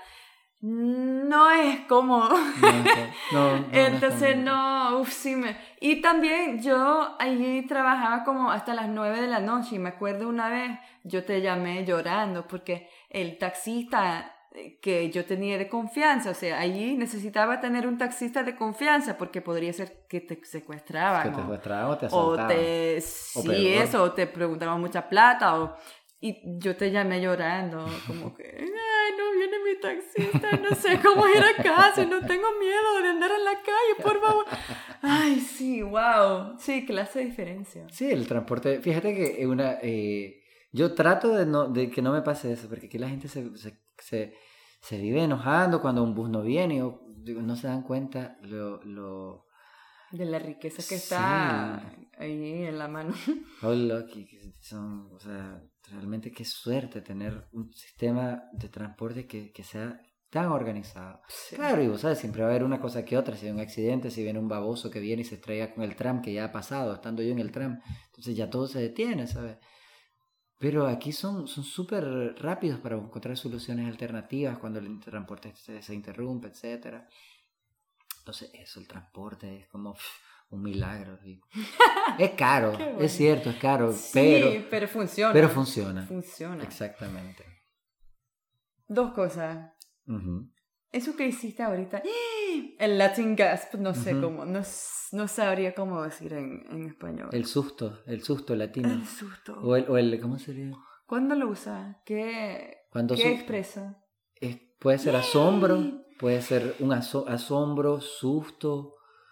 no es cómodo. No, no, no, Entonces no, no, uff, sí me... Y también yo allí trabajaba como hasta las nueve de la noche y me acuerdo una vez, yo te llamé llorando porque el taxista que yo tenía de confianza, o sea, allí necesitaba tener un taxista de confianza porque podría ser que te secuestraban. Que te secuestraban o te asaltaban. O te... O sí, peor. eso, o te preguntaban mucha plata o... Y yo te llamé llorando, como que, ay, no viene mi taxista, no sé cómo ir a casa, no tengo miedo de andar en la calle, por favor. Ay, sí, wow. Sí, clase de diferencia. Sí, el transporte, fíjate que una, eh, yo trato de, no, de que no me pase eso, porque aquí la gente se, se, se, se vive enojando cuando un bus no viene, o digo, no se dan cuenta lo... lo de la riqueza que está sí. ahí en la mano. Oh, lucky, que son, o sea, realmente qué suerte tener un sistema de transporte que, que sea tan organizado. Sí. Claro, y vos sabes, siempre va a haber una cosa que otra, si hay un accidente, si viene un baboso que viene y se estrella con el tram, que ya ha pasado, estando yo en el tram, entonces ya todo se detiene, ¿sabes? Pero aquí son son súper rápidos para encontrar soluciones alternativas cuando el transporte se, se interrumpe, etcétera. Entonces eso, el transporte es como pff, un milagro. ¿Sí? Es caro, bueno. Es cierto, es caro, sí, pero, pero funciona. Pero funciona. Funciona. Exactamente. Dos cosas. Uh-huh. Eso que hiciste ahorita, el Latin gasp, no sé uh-huh. cómo, no, no sabría cómo decir en, en español. El susto, el susto latino. El susto. O el, o el ¿cómo sería? ¿Cuándo lo usas? ¿Qué, Cuando ¿qué su- expresa? Es, puede ser asombro, puede ser un aso- asombro, susto,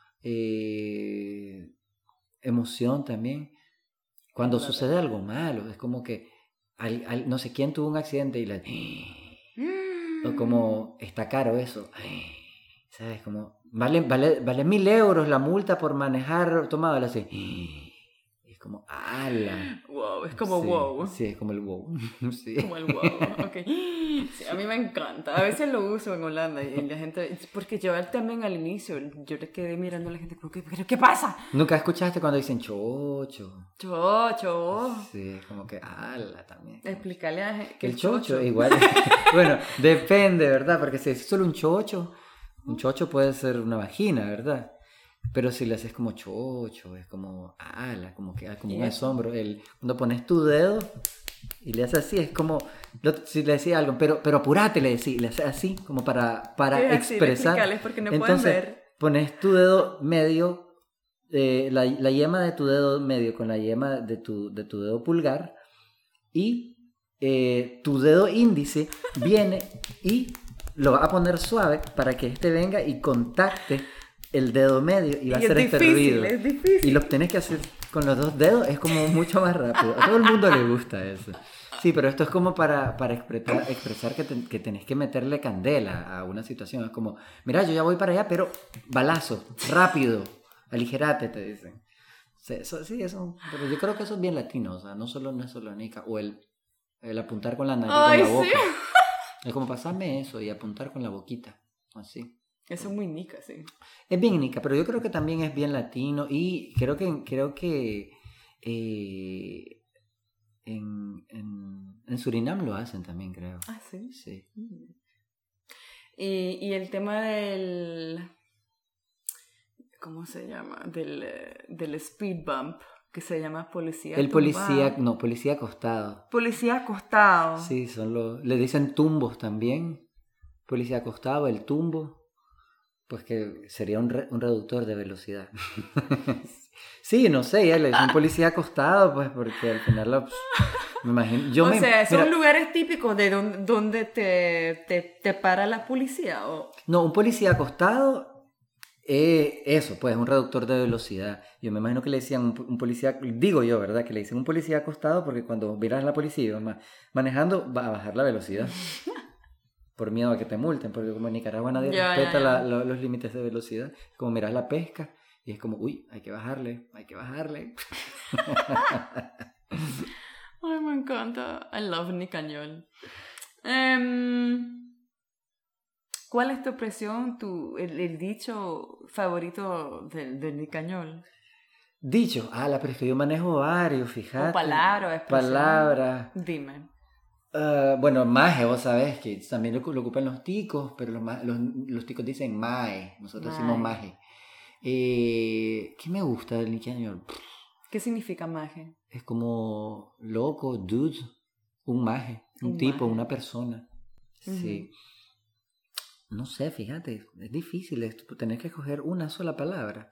eh, emoción también. Cuando Claro. sucede algo malo, es como que al, al, no sé quién tuvo un accidente y la... O como, está caro eso. ¿Sabes? Como, vale, vale, vale mil euros la multa por manejar tomado. Así. Es como, ala. Wow, es como sí, wow. Sí, es como el wow. Sí. Como el wow, ok. Sí, a mí me encanta. A veces lo uso en Holanda y la gente... Porque yo también al inicio, yo le quedé mirando a la gente como, ¿qué, qué pasa? ¿Nunca escuchaste cuando dicen chocho? Chocho. Sí, es como que, ala también. Explícale a la gente que El es chocho, chocho. igual. Bueno, depende, ¿verdad? Porque si es solo un chocho, un chocho puede ser una vagina, ¿verdad? Pero si le haces como chocho, es como ala, como que como un asombro. El, cuando pones tu dedo y le haces así, es como lo, si le decía algo, pero, pero apurate, le decía, le haces así, como para, para expresar. Explícales porque no Entonces, pueden ver. Pones tu dedo medio, eh, la, la yema de tu dedo medio con la yema de tu, de tu dedo pulgar y eh, tu dedo índice viene y lo va a poner suave para que este venga y contacte el dedo medio y va y a hacer es este difícil, ruido. Es difícil. Y lo tenés que hacer con los dos dedos, es como mucho más rápido. A todo el mundo le gusta eso. Sí, pero esto es como para, para expresar, expresar que, te, que tenés que meterle candela a una situación. Es como, mira, yo ya voy para allá, pero balazo, rápido, aligerate, te dicen. Sí, eso, sí, eso, pero yo creo que eso es bien latino, o sea, no solo, no es solo nica, o el, el apuntar con la nariz, Ay, con la sí. boca. Es como pasarme eso y apuntar con la boquita, así. Eso es muy nica, sí. Es bien nica, pero yo creo que también es bien latino y creo que, creo que eh, en, en, en Surinam lo hacen también, creo. Ah, sí. Sí. Y, y el tema del... ¿Cómo se llama? Del, eh, del speed bump, que se llama policía El policía, tumbado. no, policía acostado. Policía acostado. Sí, son los, le dicen tumbos también. Policía acostado, el tumbo, pues que sería un, re, un reductor de velocidad. Sí, no sé, ya le dicen policía acostado, pues porque al final lo, me imagino. Yo o me, sea, ¿son mira, lugares típicos de donde, donde te, te, te para la policía? ¿O? No, un policía acostado. Eh, eso, pues, un reductor de velocidad. Yo me imagino que le decían un, un policía, digo yo, ¿verdad? Que le dicen un policía acostado porque cuando miras a la policía ma, manejando va a bajar la velocidad. Por miedo a que te multen, porque como en Nicaragua nadie ya, respeta ya, ya. La, lo, los límites de velocidad. Como miras la pesca y es como, uy, hay que bajarle, hay que bajarle. Ay, me encanta. I love Nicañol. Um, ¿Cuál es tu expresión, tu, el, el dicho favorito del, del Nicañol? Dicho, ah, la pero es que yo manejo varios, fíjate. O palabra o expresión. Palabras. Dime. Uh, bueno, maje, vos sabés que también lo, lo ocupan los ticos, pero los, los, los ticos dicen mae, nosotros mae. Decimos maje. Eh, ¿Qué me gusta del nicañol? ¿Qué significa maje? Es como loco, dude, un maje, un, un tipo, maje. Una persona. Uh-huh. Sí. No sé, fíjate, es difícil esto, tener que escoger una sola palabra.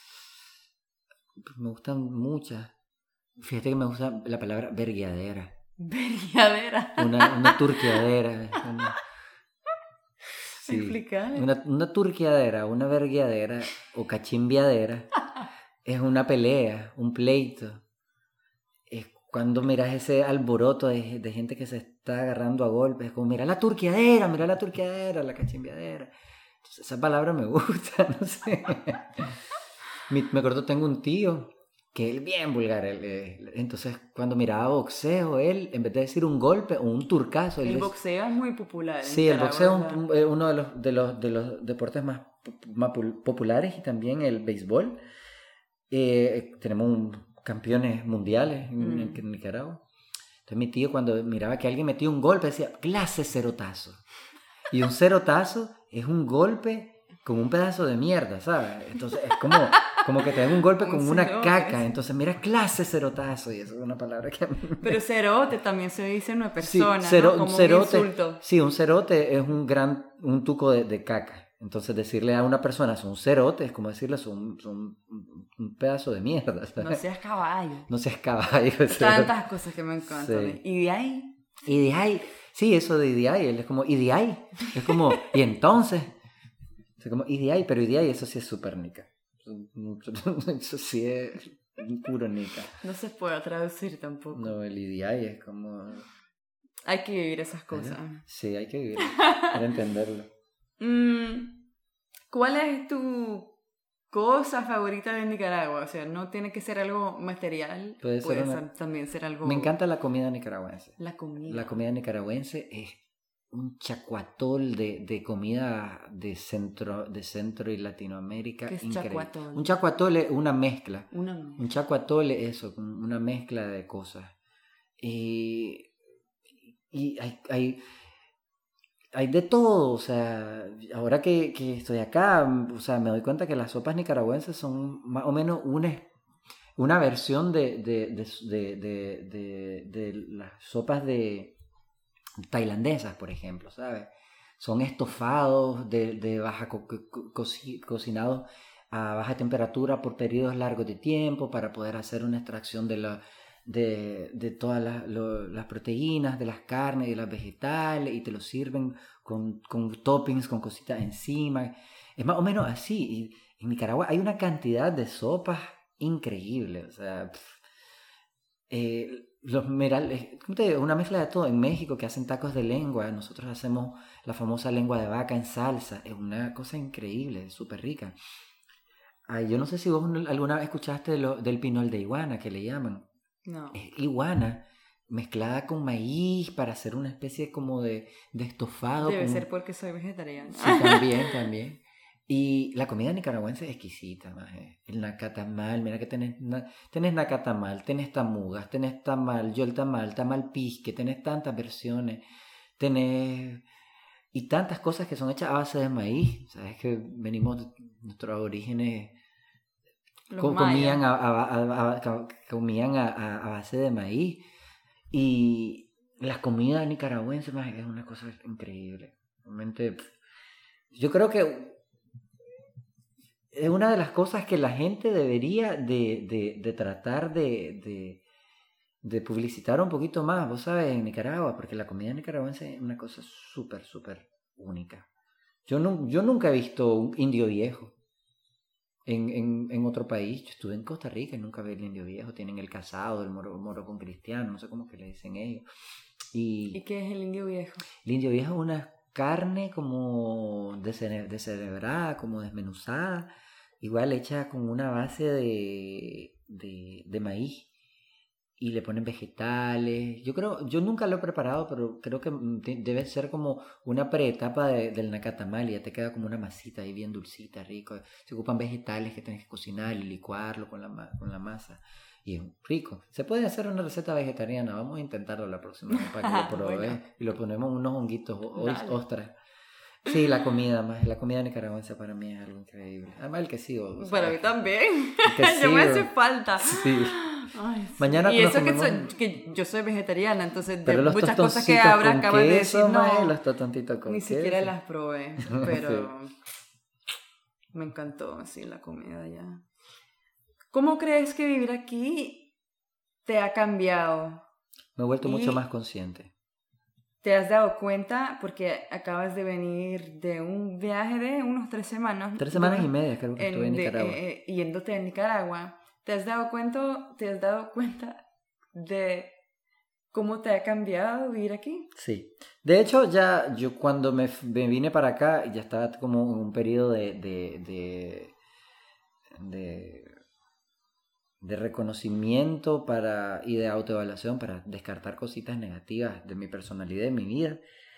Me gustan muchas. Fíjate que me gusta la palabra vergueadera. Vergueadera. Una, una turqueadera. Una, sí, explicar. Una, una turqueadera, una vergueadera o cachimbiadera es una pelea, un pleito. Es cuando miras ese alboroto de, de gente que se está agarrando a golpes, es como mira la turqueadera, mira la turqueadera, la cachimbiadera. Entonces, esa palabra me gusta, no sé. Me, me acuerdo, tengo un tío que él bien vulgar, él, él, entonces cuando miraba boxeo, él en vez de decir un golpe o un turcazo, el él boxeo es muy popular. Sí, el boxeo es un, uno de los, de, los, de los deportes más, más populares y también el béisbol. Eh, tenemos un, campeones mundiales en, mm. en, en Nicaragua. Entonces mi tío cuando miraba que alguien metía un golpe decía, clase cerotazo. Y un cerotazo es un golpe con un pedazo de mierda, ¿sabes? Entonces es como, como que te dan un golpe con un una cerote. Caca. Entonces mira, clase cerotazo. Y eso es una palabra que a mí me... Pero cerote también se dice en una persona, sí, cero, ¿no? Como cerote, un insulto. Sí, un cerote es un gran, un tuco de, de caca. Entonces decirle a una persona es un cerote es como decirle es un, un, un pedazo de mierda, ¿sabes? No seas caballo. No seas caballo. Tantas cosas que me encantan. Sí. Y de ahí... Y de ahí... Sí, eso de de ahí, él es como, y de ahí, es como, y entonces, es como, y de ahí, pero y de ahí, eso sí es súper nica, eso sí es puro nica. No se puede traducir tampoco. No, el y de ahí es como... Hay que vivir esas cosas. Sí, hay que vivir, para entenderlo. ¿Cuál es tu cosa favorita de Nicaragua? O sea, no tiene que ser algo material, puede, puede ser una... también ser algo... Me encanta la comida nicaragüense. La comida. La comida nicaragüense es un chacuatol de, de comida de centro, de centro y Latinoamérica. ¿Qué es increíble. chacuatol? Un chacuatol es una mezcla. Una mezcla. Un chacuatol es eso, una mezcla de cosas. Y, y hay... hay Hay de todo, o sea, ahora que, que estoy acá, o sea, me doy cuenta que las sopas nicaragüenses son más o menos una, una versión de, de, de, de, de, de, de las sopas de tailandesas, por ejemplo, ¿sabes? Son estofados de, de baja co, co, co, cocinados a baja temperatura por periodos largos de tiempo para poder hacer una extracción de la... de, de todas las, lo, las proteínas, de las carnes y de las vegetales, y te lo sirven con, con toppings, con cositas encima. Es más o menos así. Y en Nicaragua hay una cantidad de sopas increíble. O sea, pff, eh, los merales, una mezcla de todo. En México, que hacen tacos de lengua, nosotros hacemos la famosa lengua de vaca en salsa. Es una cosa increíble, súper rica. Ay, yo no sé si vos alguna vez escuchaste de lo, del pinol de iguana, que le llaman. No. Es iguana mezclada con maíz para hacer una especie como de, de estofado. Debe con... ser porque soy vegetariana. Sí, también, también. Y la comida nicaragüense es exquisita, maje. El nacatamal, mira que tenés, na, tenés nacatamal, tenés tamugas, tenés tamal, yol tamal, tamal pisque, tenés tantas versiones, tenés... Y tantas cosas que son hechas a base de maíz. Sabes que venimos, nuestros orígenes co- comían, a, a, a, a, comían a, a, a base de maíz. Y las comidas nicaragüenses, maje, es una cosa increíble. Realmente, yo creo que es una de las cosas que la gente debería de, de, de tratar de, de, de publicitar un poquito más, vos sabes, en Nicaragua, porque la comida nicaragüense es una cosa súper, súper única. Yo, no, yo nunca he visto un indio viejo en, en, en otro país. Yo estuve en Costa Rica y nunca vi el indio viejo. Tienen el casado, el moro, moro con cristiano, no sé cómo que le dicen ellos. Y, ¿Y qué es el indio viejo? El indio viejo es una carne como descerebrada, como desmenuzada, igual hecha con una base de, de, de maíz y le ponen vegetales. Yo creo, yo nunca lo he preparado, pero creo que debe ser como una preetapa de, del nacatamal y ya te queda como una masita ahí bien dulcita, rico. Se ocupan vegetales que tienes que cocinar y licuarlo con la, con la masa. Y es rico. Se puede hacer una receta vegetariana. Vamos a intentarlo la próxima vez para que lo probes. Bueno. Y lo ponemos unos honguitos, ostras. Sí, la comida más. La comida nicaragüense para mí es algo increíble. Además el quesillo. Para mí también. Ya me hace falta. Sí. Ay, sí. Mañana y eso comemos... que, soy, que yo soy vegetariana, entonces de pero muchas cosas que ahora acabas de decir, no, los totontitos con ni queso. siquiera las probé, pero sí. Me encantó así la comida allá. ¿Cómo crees que vivir aquí te ha cambiado? Me he vuelto y mucho más consciente. ¿Te has dado cuenta? Porque acabas de venir de un viaje de unos tres semanas. Tres semanas de, y media creo que en, estuve en de, Nicaragua. Eh, yéndote a Nicaragua. ¿Te has dado cuenta, te has dado cuenta de cómo te ha cambiado vivir aquí? Sí. De hecho, ya yo cuando me, me vine para acá, ya estaba como en un periodo de, de, de, de, de reconocimiento para, y de autoevaluación para descartar cositas negativas de mi personalidad, de mi vida.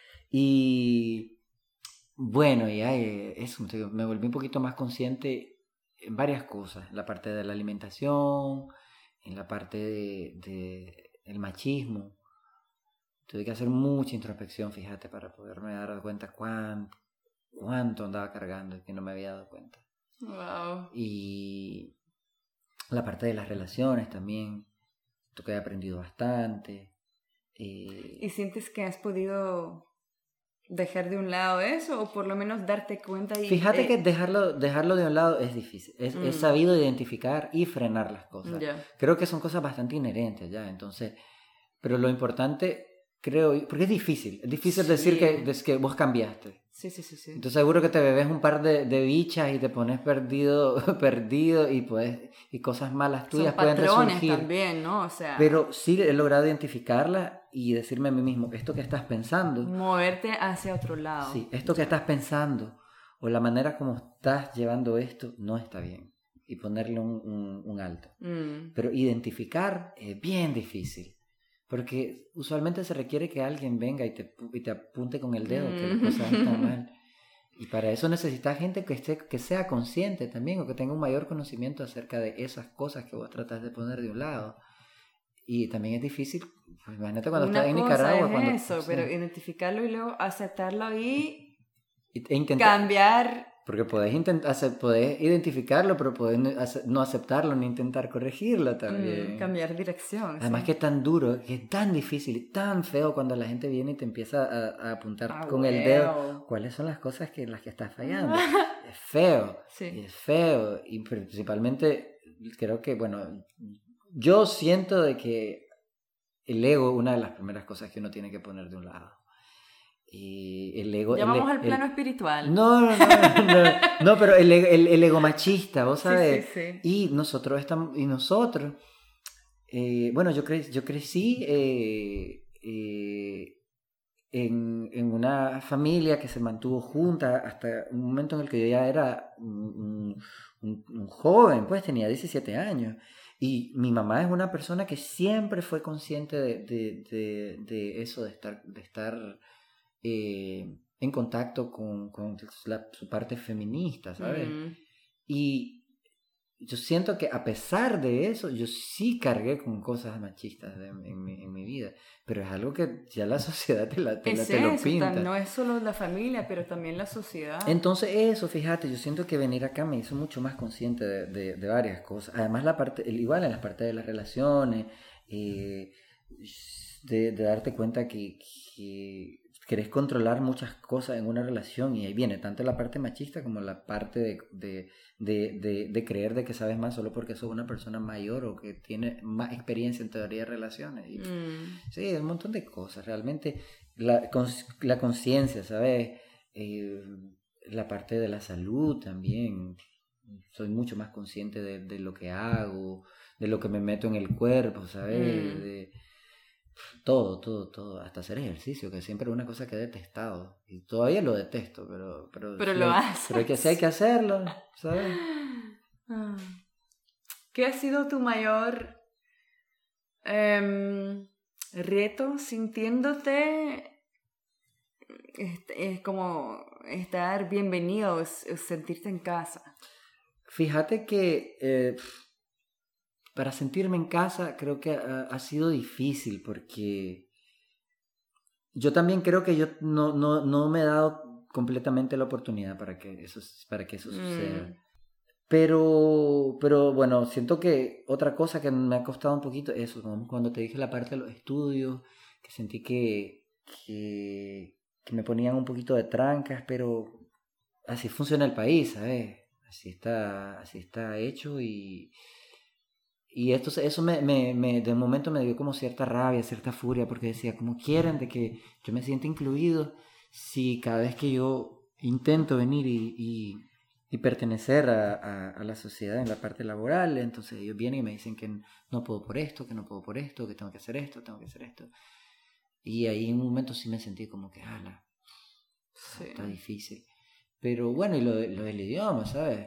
Y bueno, ya eso, me volví un poquito más consciente en varias cosas, en la parte de la alimentación, en la parte de, de el machismo. Tuve que hacer mucha introspección, fíjate, para poderme dar cuenta cuánto, cuánto andaba cargando y que no me había dado cuenta. Wow. Y la parte de las relaciones también, esto que he aprendido bastante. Eh... ¿Y sientes que has podido dejar de un lado eso o por lo menos darte cuenta? Y, Fíjate eh... que dejarlo, dejarlo de un lado es difícil, es, mm. es sabido identificar y frenar las cosas. Yeah. Creo que son cosas bastante inherentes ya, entonces, pero lo importante, creo, porque es difícil, es difícil sí. decir que, es que vos cambiaste. Sí, sí, sí, sí. Entonces seguro que te bebes un par de, de bichas y te pones perdido, perdido y pues y cosas malas tuyas son pueden patrones resurgir. También, ¿no? O sea, pero sí he logrado identificarlas y decirme a mí mismo, esto que estás pensando, moverte hacia otro lado. Sí, esto que estás pensando o la manera como estás llevando esto no está bien y ponerle un, un, un alto. Mm. Pero identificar es bien difícil. Porque usualmente se requiere que alguien venga y te, y te apunte con el dedo mm. que las cosas están mal. Y para eso necesitas gente que, esté, que sea consciente también o que tenga un mayor conocimiento acerca de esas cosas que vos tratas de poner de un lado. Y también es difícil, pues imagínate cuando Una estás en cosa Nicaragua. Es cuando, eso, sí. pero identificarlo y luego aceptarlo y, e intentar, cambiar. Porque podés, intent- podés identificarlo, pero podés no aceptarlo ni intentar corregirlo también. Mm, cambiar dirección. Además sí. que es tan duro, que es tan difícil, tan feo cuando la gente viene y te empieza a, a apuntar ah, con well. el dedo cuáles son las cosas que las que estás fallando. Es feo, sí. es feo. Y principalmente creo que, bueno, yo siento de que el ego es una de las primeras cosas que uno tiene que poner de un lado. Y el ego... Ya vamos el, al plano el, espiritual. No, no, no, no, no pero el, el, el ego machista, vos sabes. Sí, sí, sí. Y nosotros estamos, y nosotros, eh, bueno, yo, cre, yo crecí eh, eh, en, en una familia que se mantuvo junta hasta un momento en el que yo ya era un, un, un joven, pues tenía diecisiete años. Y mi mamá es una persona que siempre fue consciente de, de, de, de eso, de estar, de estar eh, en contacto con, con la, su parte feminista, ¿sabes? Mm. Y yo siento que a pesar de eso, yo sí cargué con cosas machistas de, en, mi, en mi vida, pero es algo que ya la sociedad te, la, te, Es la, te lo eso, pinta. tam- no es solo la familia, pero también la sociedad. Entonces eso, fíjate, yo siento que venir acá me hizo mucho más consciente de, de, de varias cosas. Además, la parte, igual en las partes de las relaciones, eh, de, de darte cuenta que, que querés controlar muchas cosas en una relación y ahí viene tanto la parte machista como la parte de, de, de, de, de creer de que sabes más solo porque sos una persona mayor o que tiene más experiencia en teoría de relaciones. Y, Mm. sí, un montón de cosas. Realmente la, cons, la conciencia, ¿sabes? Eh, la parte de la salud también. Soy mucho más consciente de, de lo que hago, de lo que me meto en el cuerpo, ¿sabes? Mm. De, todo, todo, todo, hasta hacer ejercicio, que siempre es una cosa que he detestado. Y todavía lo detesto, pero... Pero, Pero sí lo hay, haces. pero hay que, sí hay que hacerlo, ¿sabes? Ah. ¿Qué ha sido tu mayor em, reto sintiéndote este, es como estar bienvenido, es- es sentirte en casa? Fíjate que eh, para sentirme en casa creo que ha, ha sido difícil porque yo también creo que yo no, no, no me he dado completamente la oportunidad para que eso, para que eso suceda. Mm. Pero, pero bueno, siento que otra cosa que me ha costado un poquito es eso, como cuando te dije la parte de los estudios, que sentí que, que, que me ponían un poquito de trancas, pero así funciona el país, ¿sabes? Así está, así está hecho y, y esto, eso me, me, me, de momento me dio como cierta rabia, cierta furia, porque decía, ¿cómo quieren de que yo me sienta incluido si cada vez que yo intento venir y, y, y pertenecer a, a, a la sociedad en la parte laboral, entonces ellos vienen y me dicen que no puedo por esto, que no puedo por esto, que tengo que hacer esto, tengo que hacer esto? Y ahí en un momento sí me sentí como que, ala, Sí. está difícil. Pero bueno, y lo, de, lo del idioma, ¿sabes?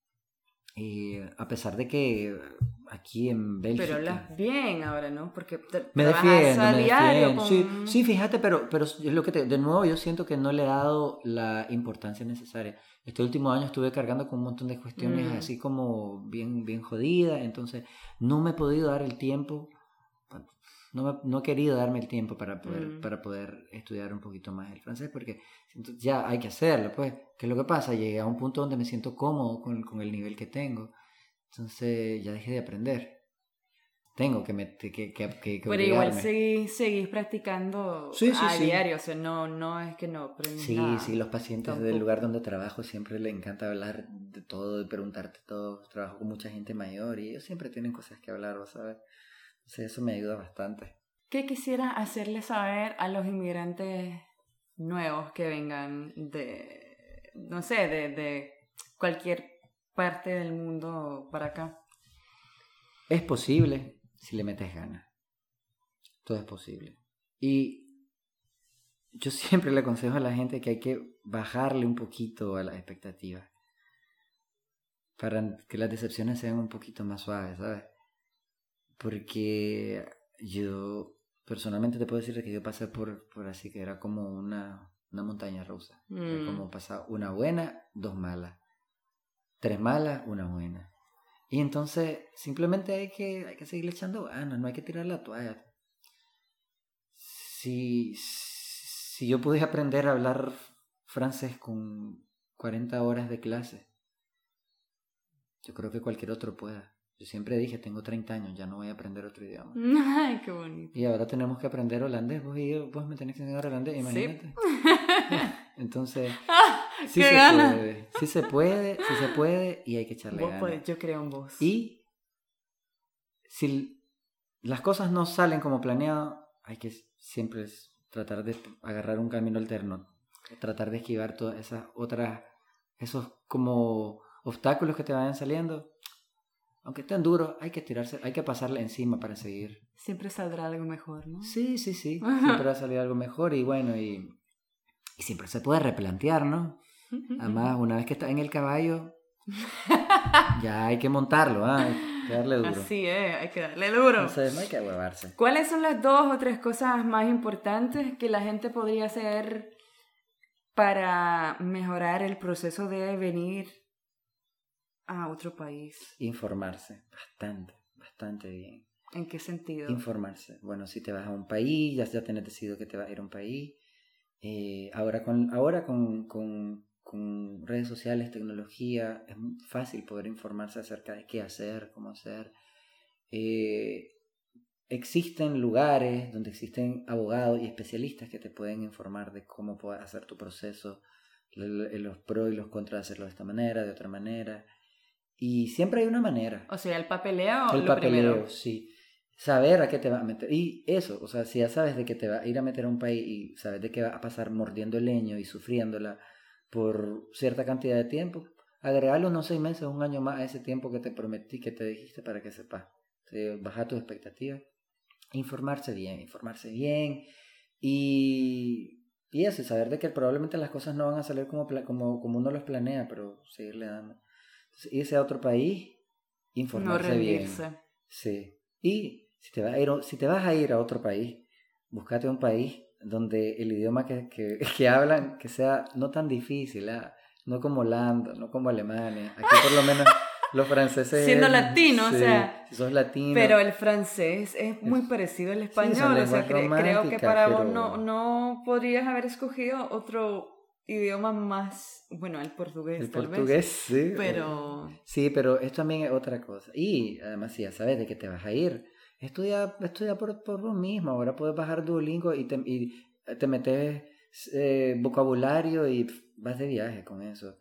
Y a pesar de que aquí en Bélgica... Pero hablas bien ahora, ¿no? Porque te, Me trabajas defiendo, a me diario defiendo. con... Sí, sí, fíjate, pero, pero es lo que te, de nuevo yo siento que no le he dado la importancia necesaria. Este último año estuve cargando con un montón de cuestiones Mm. así como bien, bien jodidas, entonces no me he podido dar el tiempo, no, me, no he querido darme el tiempo para poder, Mm. para poder estudiar un poquito más el francés, porque siento, ya hay que hacerlo, pues. ¿Qué es lo que pasa? Llegué a un punto donde me siento cómodo con, con el nivel que tengo, entonces ya dejé de aprender. Tengo que, met- que, que, que, que Pero igual obligarme. seguís, seguís practicando Sí, sí, a sí. diario, o sea, no, no es que no aprendes Sí, nada. sí, los pacientes Tampoco. del lugar donde trabajo siempre les encanta hablar de todo y preguntarte todo. Trabajo con mucha gente mayor y ellos siempre tienen cosas que hablar, ¿vos sabes? Entonces eso me ayuda bastante. ¿Qué quisieras hacerle saber a los inmigrantes nuevos que vengan de, no sé, de, de cualquier parte del mundo para acá? Es posible si le metes ganas. Todo es posible. Y yo siempre le aconsejo a la gente que hay que bajarle un poquito a las expectativas para que las decepciones sean un poquito más suaves, ¿sabes? Porque yo personalmente te puedo decir que yo pasé por, por así que era como una, una montaña rusa. Mm. Era como pasar una buena, dos malas. Tres malas, una buena. Y entonces simplemente hay que, hay que seguirle echando ganas, no hay que tirar la toalla. Si, si yo pude aprender a hablar francés con cuarenta horas de clase, yo creo que cualquier otro pueda. Yo siempre dije, tengo treinta años, ya no voy a aprender otro idioma. Ay, qué bonito. Y ahora tenemos que aprender holandés. Vos y yo, vos me tenés que enseñar holandés, imagínate. Sí. Entonces, ¡Ah, sí qué se ganas! puede. Sí se puede, sí se puede y hay que echarle Vos ganas. podés, yo creo en vos. Y si las cosas no salen como planeado, hay que siempre tratar de agarrar un camino alterno. Tratar de esquivar todas esas otras, esos como obstáculos que te vayan saliendo. Aunque estén duros, hay que tirarse, hay que pasarle encima para seguir. Siempre saldrá algo mejor, ¿no? Sí, sí, sí. Siempre va a salir algo mejor y bueno, y, y siempre se puede replantear, ¿no? Además, una vez que estás en el caballo, Ya hay que montarlo, ¿ah? Hay que darle duro. Así es, hay que darle duro. Entonces no hay que huevarse. ¿Cuáles son las dos o tres cosas más importantes que la gente podría hacer para mejorar el proceso de venir a otro país? Informarse, bastante, bastante bien. ¿En qué sentido? Informarse. Bueno, si te vas a un país, ya, ya tienes decidido que te vas a ir a un país. Eh, ahora con, ahora con, con, con redes sociales, tecnología, es muy fácil poder informarse acerca de qué hacer, cómo hacer. Eh, existen lugares donde existen abogados y especialistas que te pueden informar de cómo puedes hacer tu proceso, los pros y los contras de hacerlo de esta manera, de otra manera. Y siempre hay una manera. O sea, el papeleo El lo papeleo, primero. sí. Saber a qué te va a meter. Y eso, o sea, si ya sabes de que te va a ir a meter a un país y sabes de que va a pasar mordiendo el leño y sufriéndola por cierta cantidad de tiempo, agregarle unos seis meses, un año más a ese tiempo que te prometí, que te dijiste para que sepas. ¿Sí? Baja tus expectativas. Informarse bien, informarse bien. Y, y eso, saber de que probablemente las cosas no van a salir como, como, como uno los planea, pero seguirle dando. Entonces, irse a otro país, informarse no rendirse. bien. Sí. Y si te, vas a ir, si te vas a ir a otro país, búscate un país donde el idioma que, que, que hablan que sea no tan difícil, ¿eh? No como Holanda, no como Alemania. Aquí por lo menos los franceses... Siendo latino, sí, o sea... si sos latino... Pero el francés es muy es, parecido al español, sí, o sea, cre- creo que para pero... vos no, no podrías haber escogido otro idioma más, bueno, el portugués el tal portugués, vez, sí. pero... Sí, pero esto también es otra cosa. Y además, si ya sabes de que te vas a ir, estudia, estudia por, por vos mismo. Ahora puedes bajar Duolingo y te, y te metes eh, vocabulario y pff, vas de viaje con eso.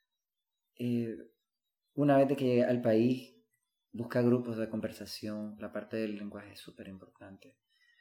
Eh, una vez de que llegues al país, busca grupos de conversación. La parte del lenguaje es súper importante.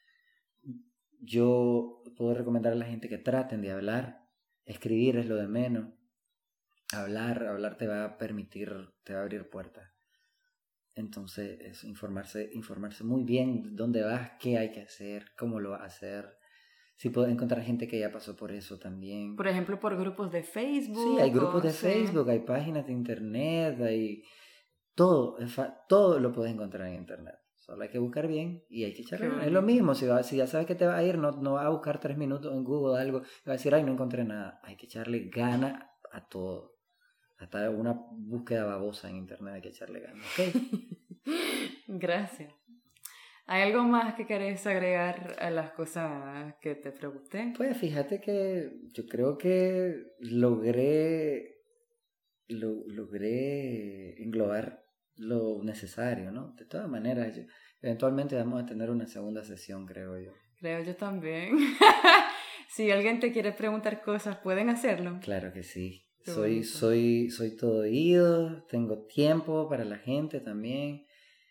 Yo puedo recomendar a la gente que traten de hablar. Escribir es lo de menos. Hablar, hablar te va a permitir, te va a abrir puertas. Entonces, es informarse, informarse muy bien dónde vas, qué hay que hacer, cómo lo vas a hacer. Si puedes encontrar gente que ya pasó por eso también. Por ejemplo, por grupos de Facebook. Sí, hay grupos de sí. Facebook, hay páginas de internet, hay todo, todo lo puedes encontrar en internet. Solo hay que buscar bien y hay que echarle ganas. Es lo mismo, si, va, si ya sabes que te vas a ir, no, no vas a buscar tres minutos en Google o algo, y vas a decir, ay, no encontré nada. Hay que echarle ganas a todo. Hasta una búsqueda babosa en internet hay que echarle ganas, ¿ok? Gracias. ¿Hay algo más que querés agregar a las cosas que te pregunté? Pues fíjate que yo creo que logré, lo, logré englobar lo necesario, ¿no? De todas maneras, yo, eventualmente vamos a tener una segunda sesión, creo yo. Creo yo también. Si alguien te quiere preguntar cosas, ¿pueden hacerlo? Claro que sí. Soy, soy, soy todo oído, tengo tiempo para la gente también.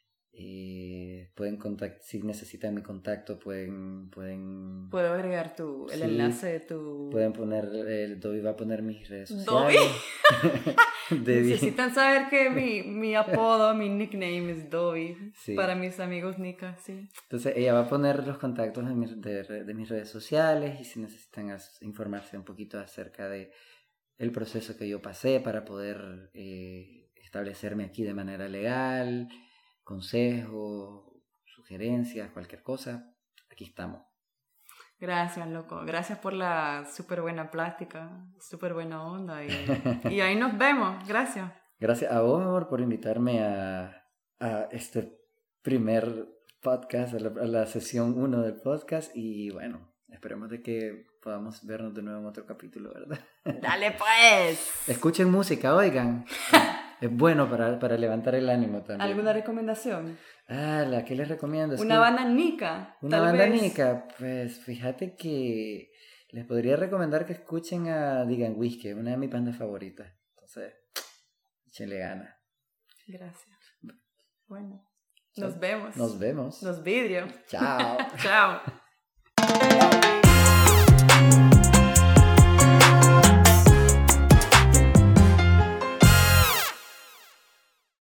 Eh, pueden contactar, si necesitan mi contacto, pueden... pueden Puedo agregar tu, el sí, enlace de tu... Pueden poner, el Dobby va a poner mis redes sociales. ¿Dobby? Necesitan saber que mi, mi apodo, mi nickname es Dobby. Sí. Para mis amigos Nika, sí. Entonces ella va a poner los contactos de, mi, de, de mis redes sociales y si necesitan informarse un poquito acerca de el proceso que yo pasé para poder eh, establecerme aquí de manera legal, consejos, sugerencias, cualquier cosa, aquí estamos. Gracias, loco. Gracias por la súper buena plática, súper buena onda. Y, y ahí nos vemos. Gracias. Gracias a vos, amor, por invitarme a, a este primer podcast, a la, a la sesión uno del podcast. Y bueno, esperemos de que podamos vernos de nuevo en otro capítulo, ¿verdad? Dale pues. Escuchen música, oigan. Es bueno para, para levantar el ánimo también. ¿Alguna recomendación? Ah, ¿la que les recomiendo? Es una que, banda nica. Una banda vez. nica. Pues fíjate que les podría recomendar que escuchen a Digan Whisky, una de mis bandas favoritas. Entonces, échenle ganas. Gracias. Bueno, nos vemos. Nos vemos. Nos vidrio. Chao. Chao.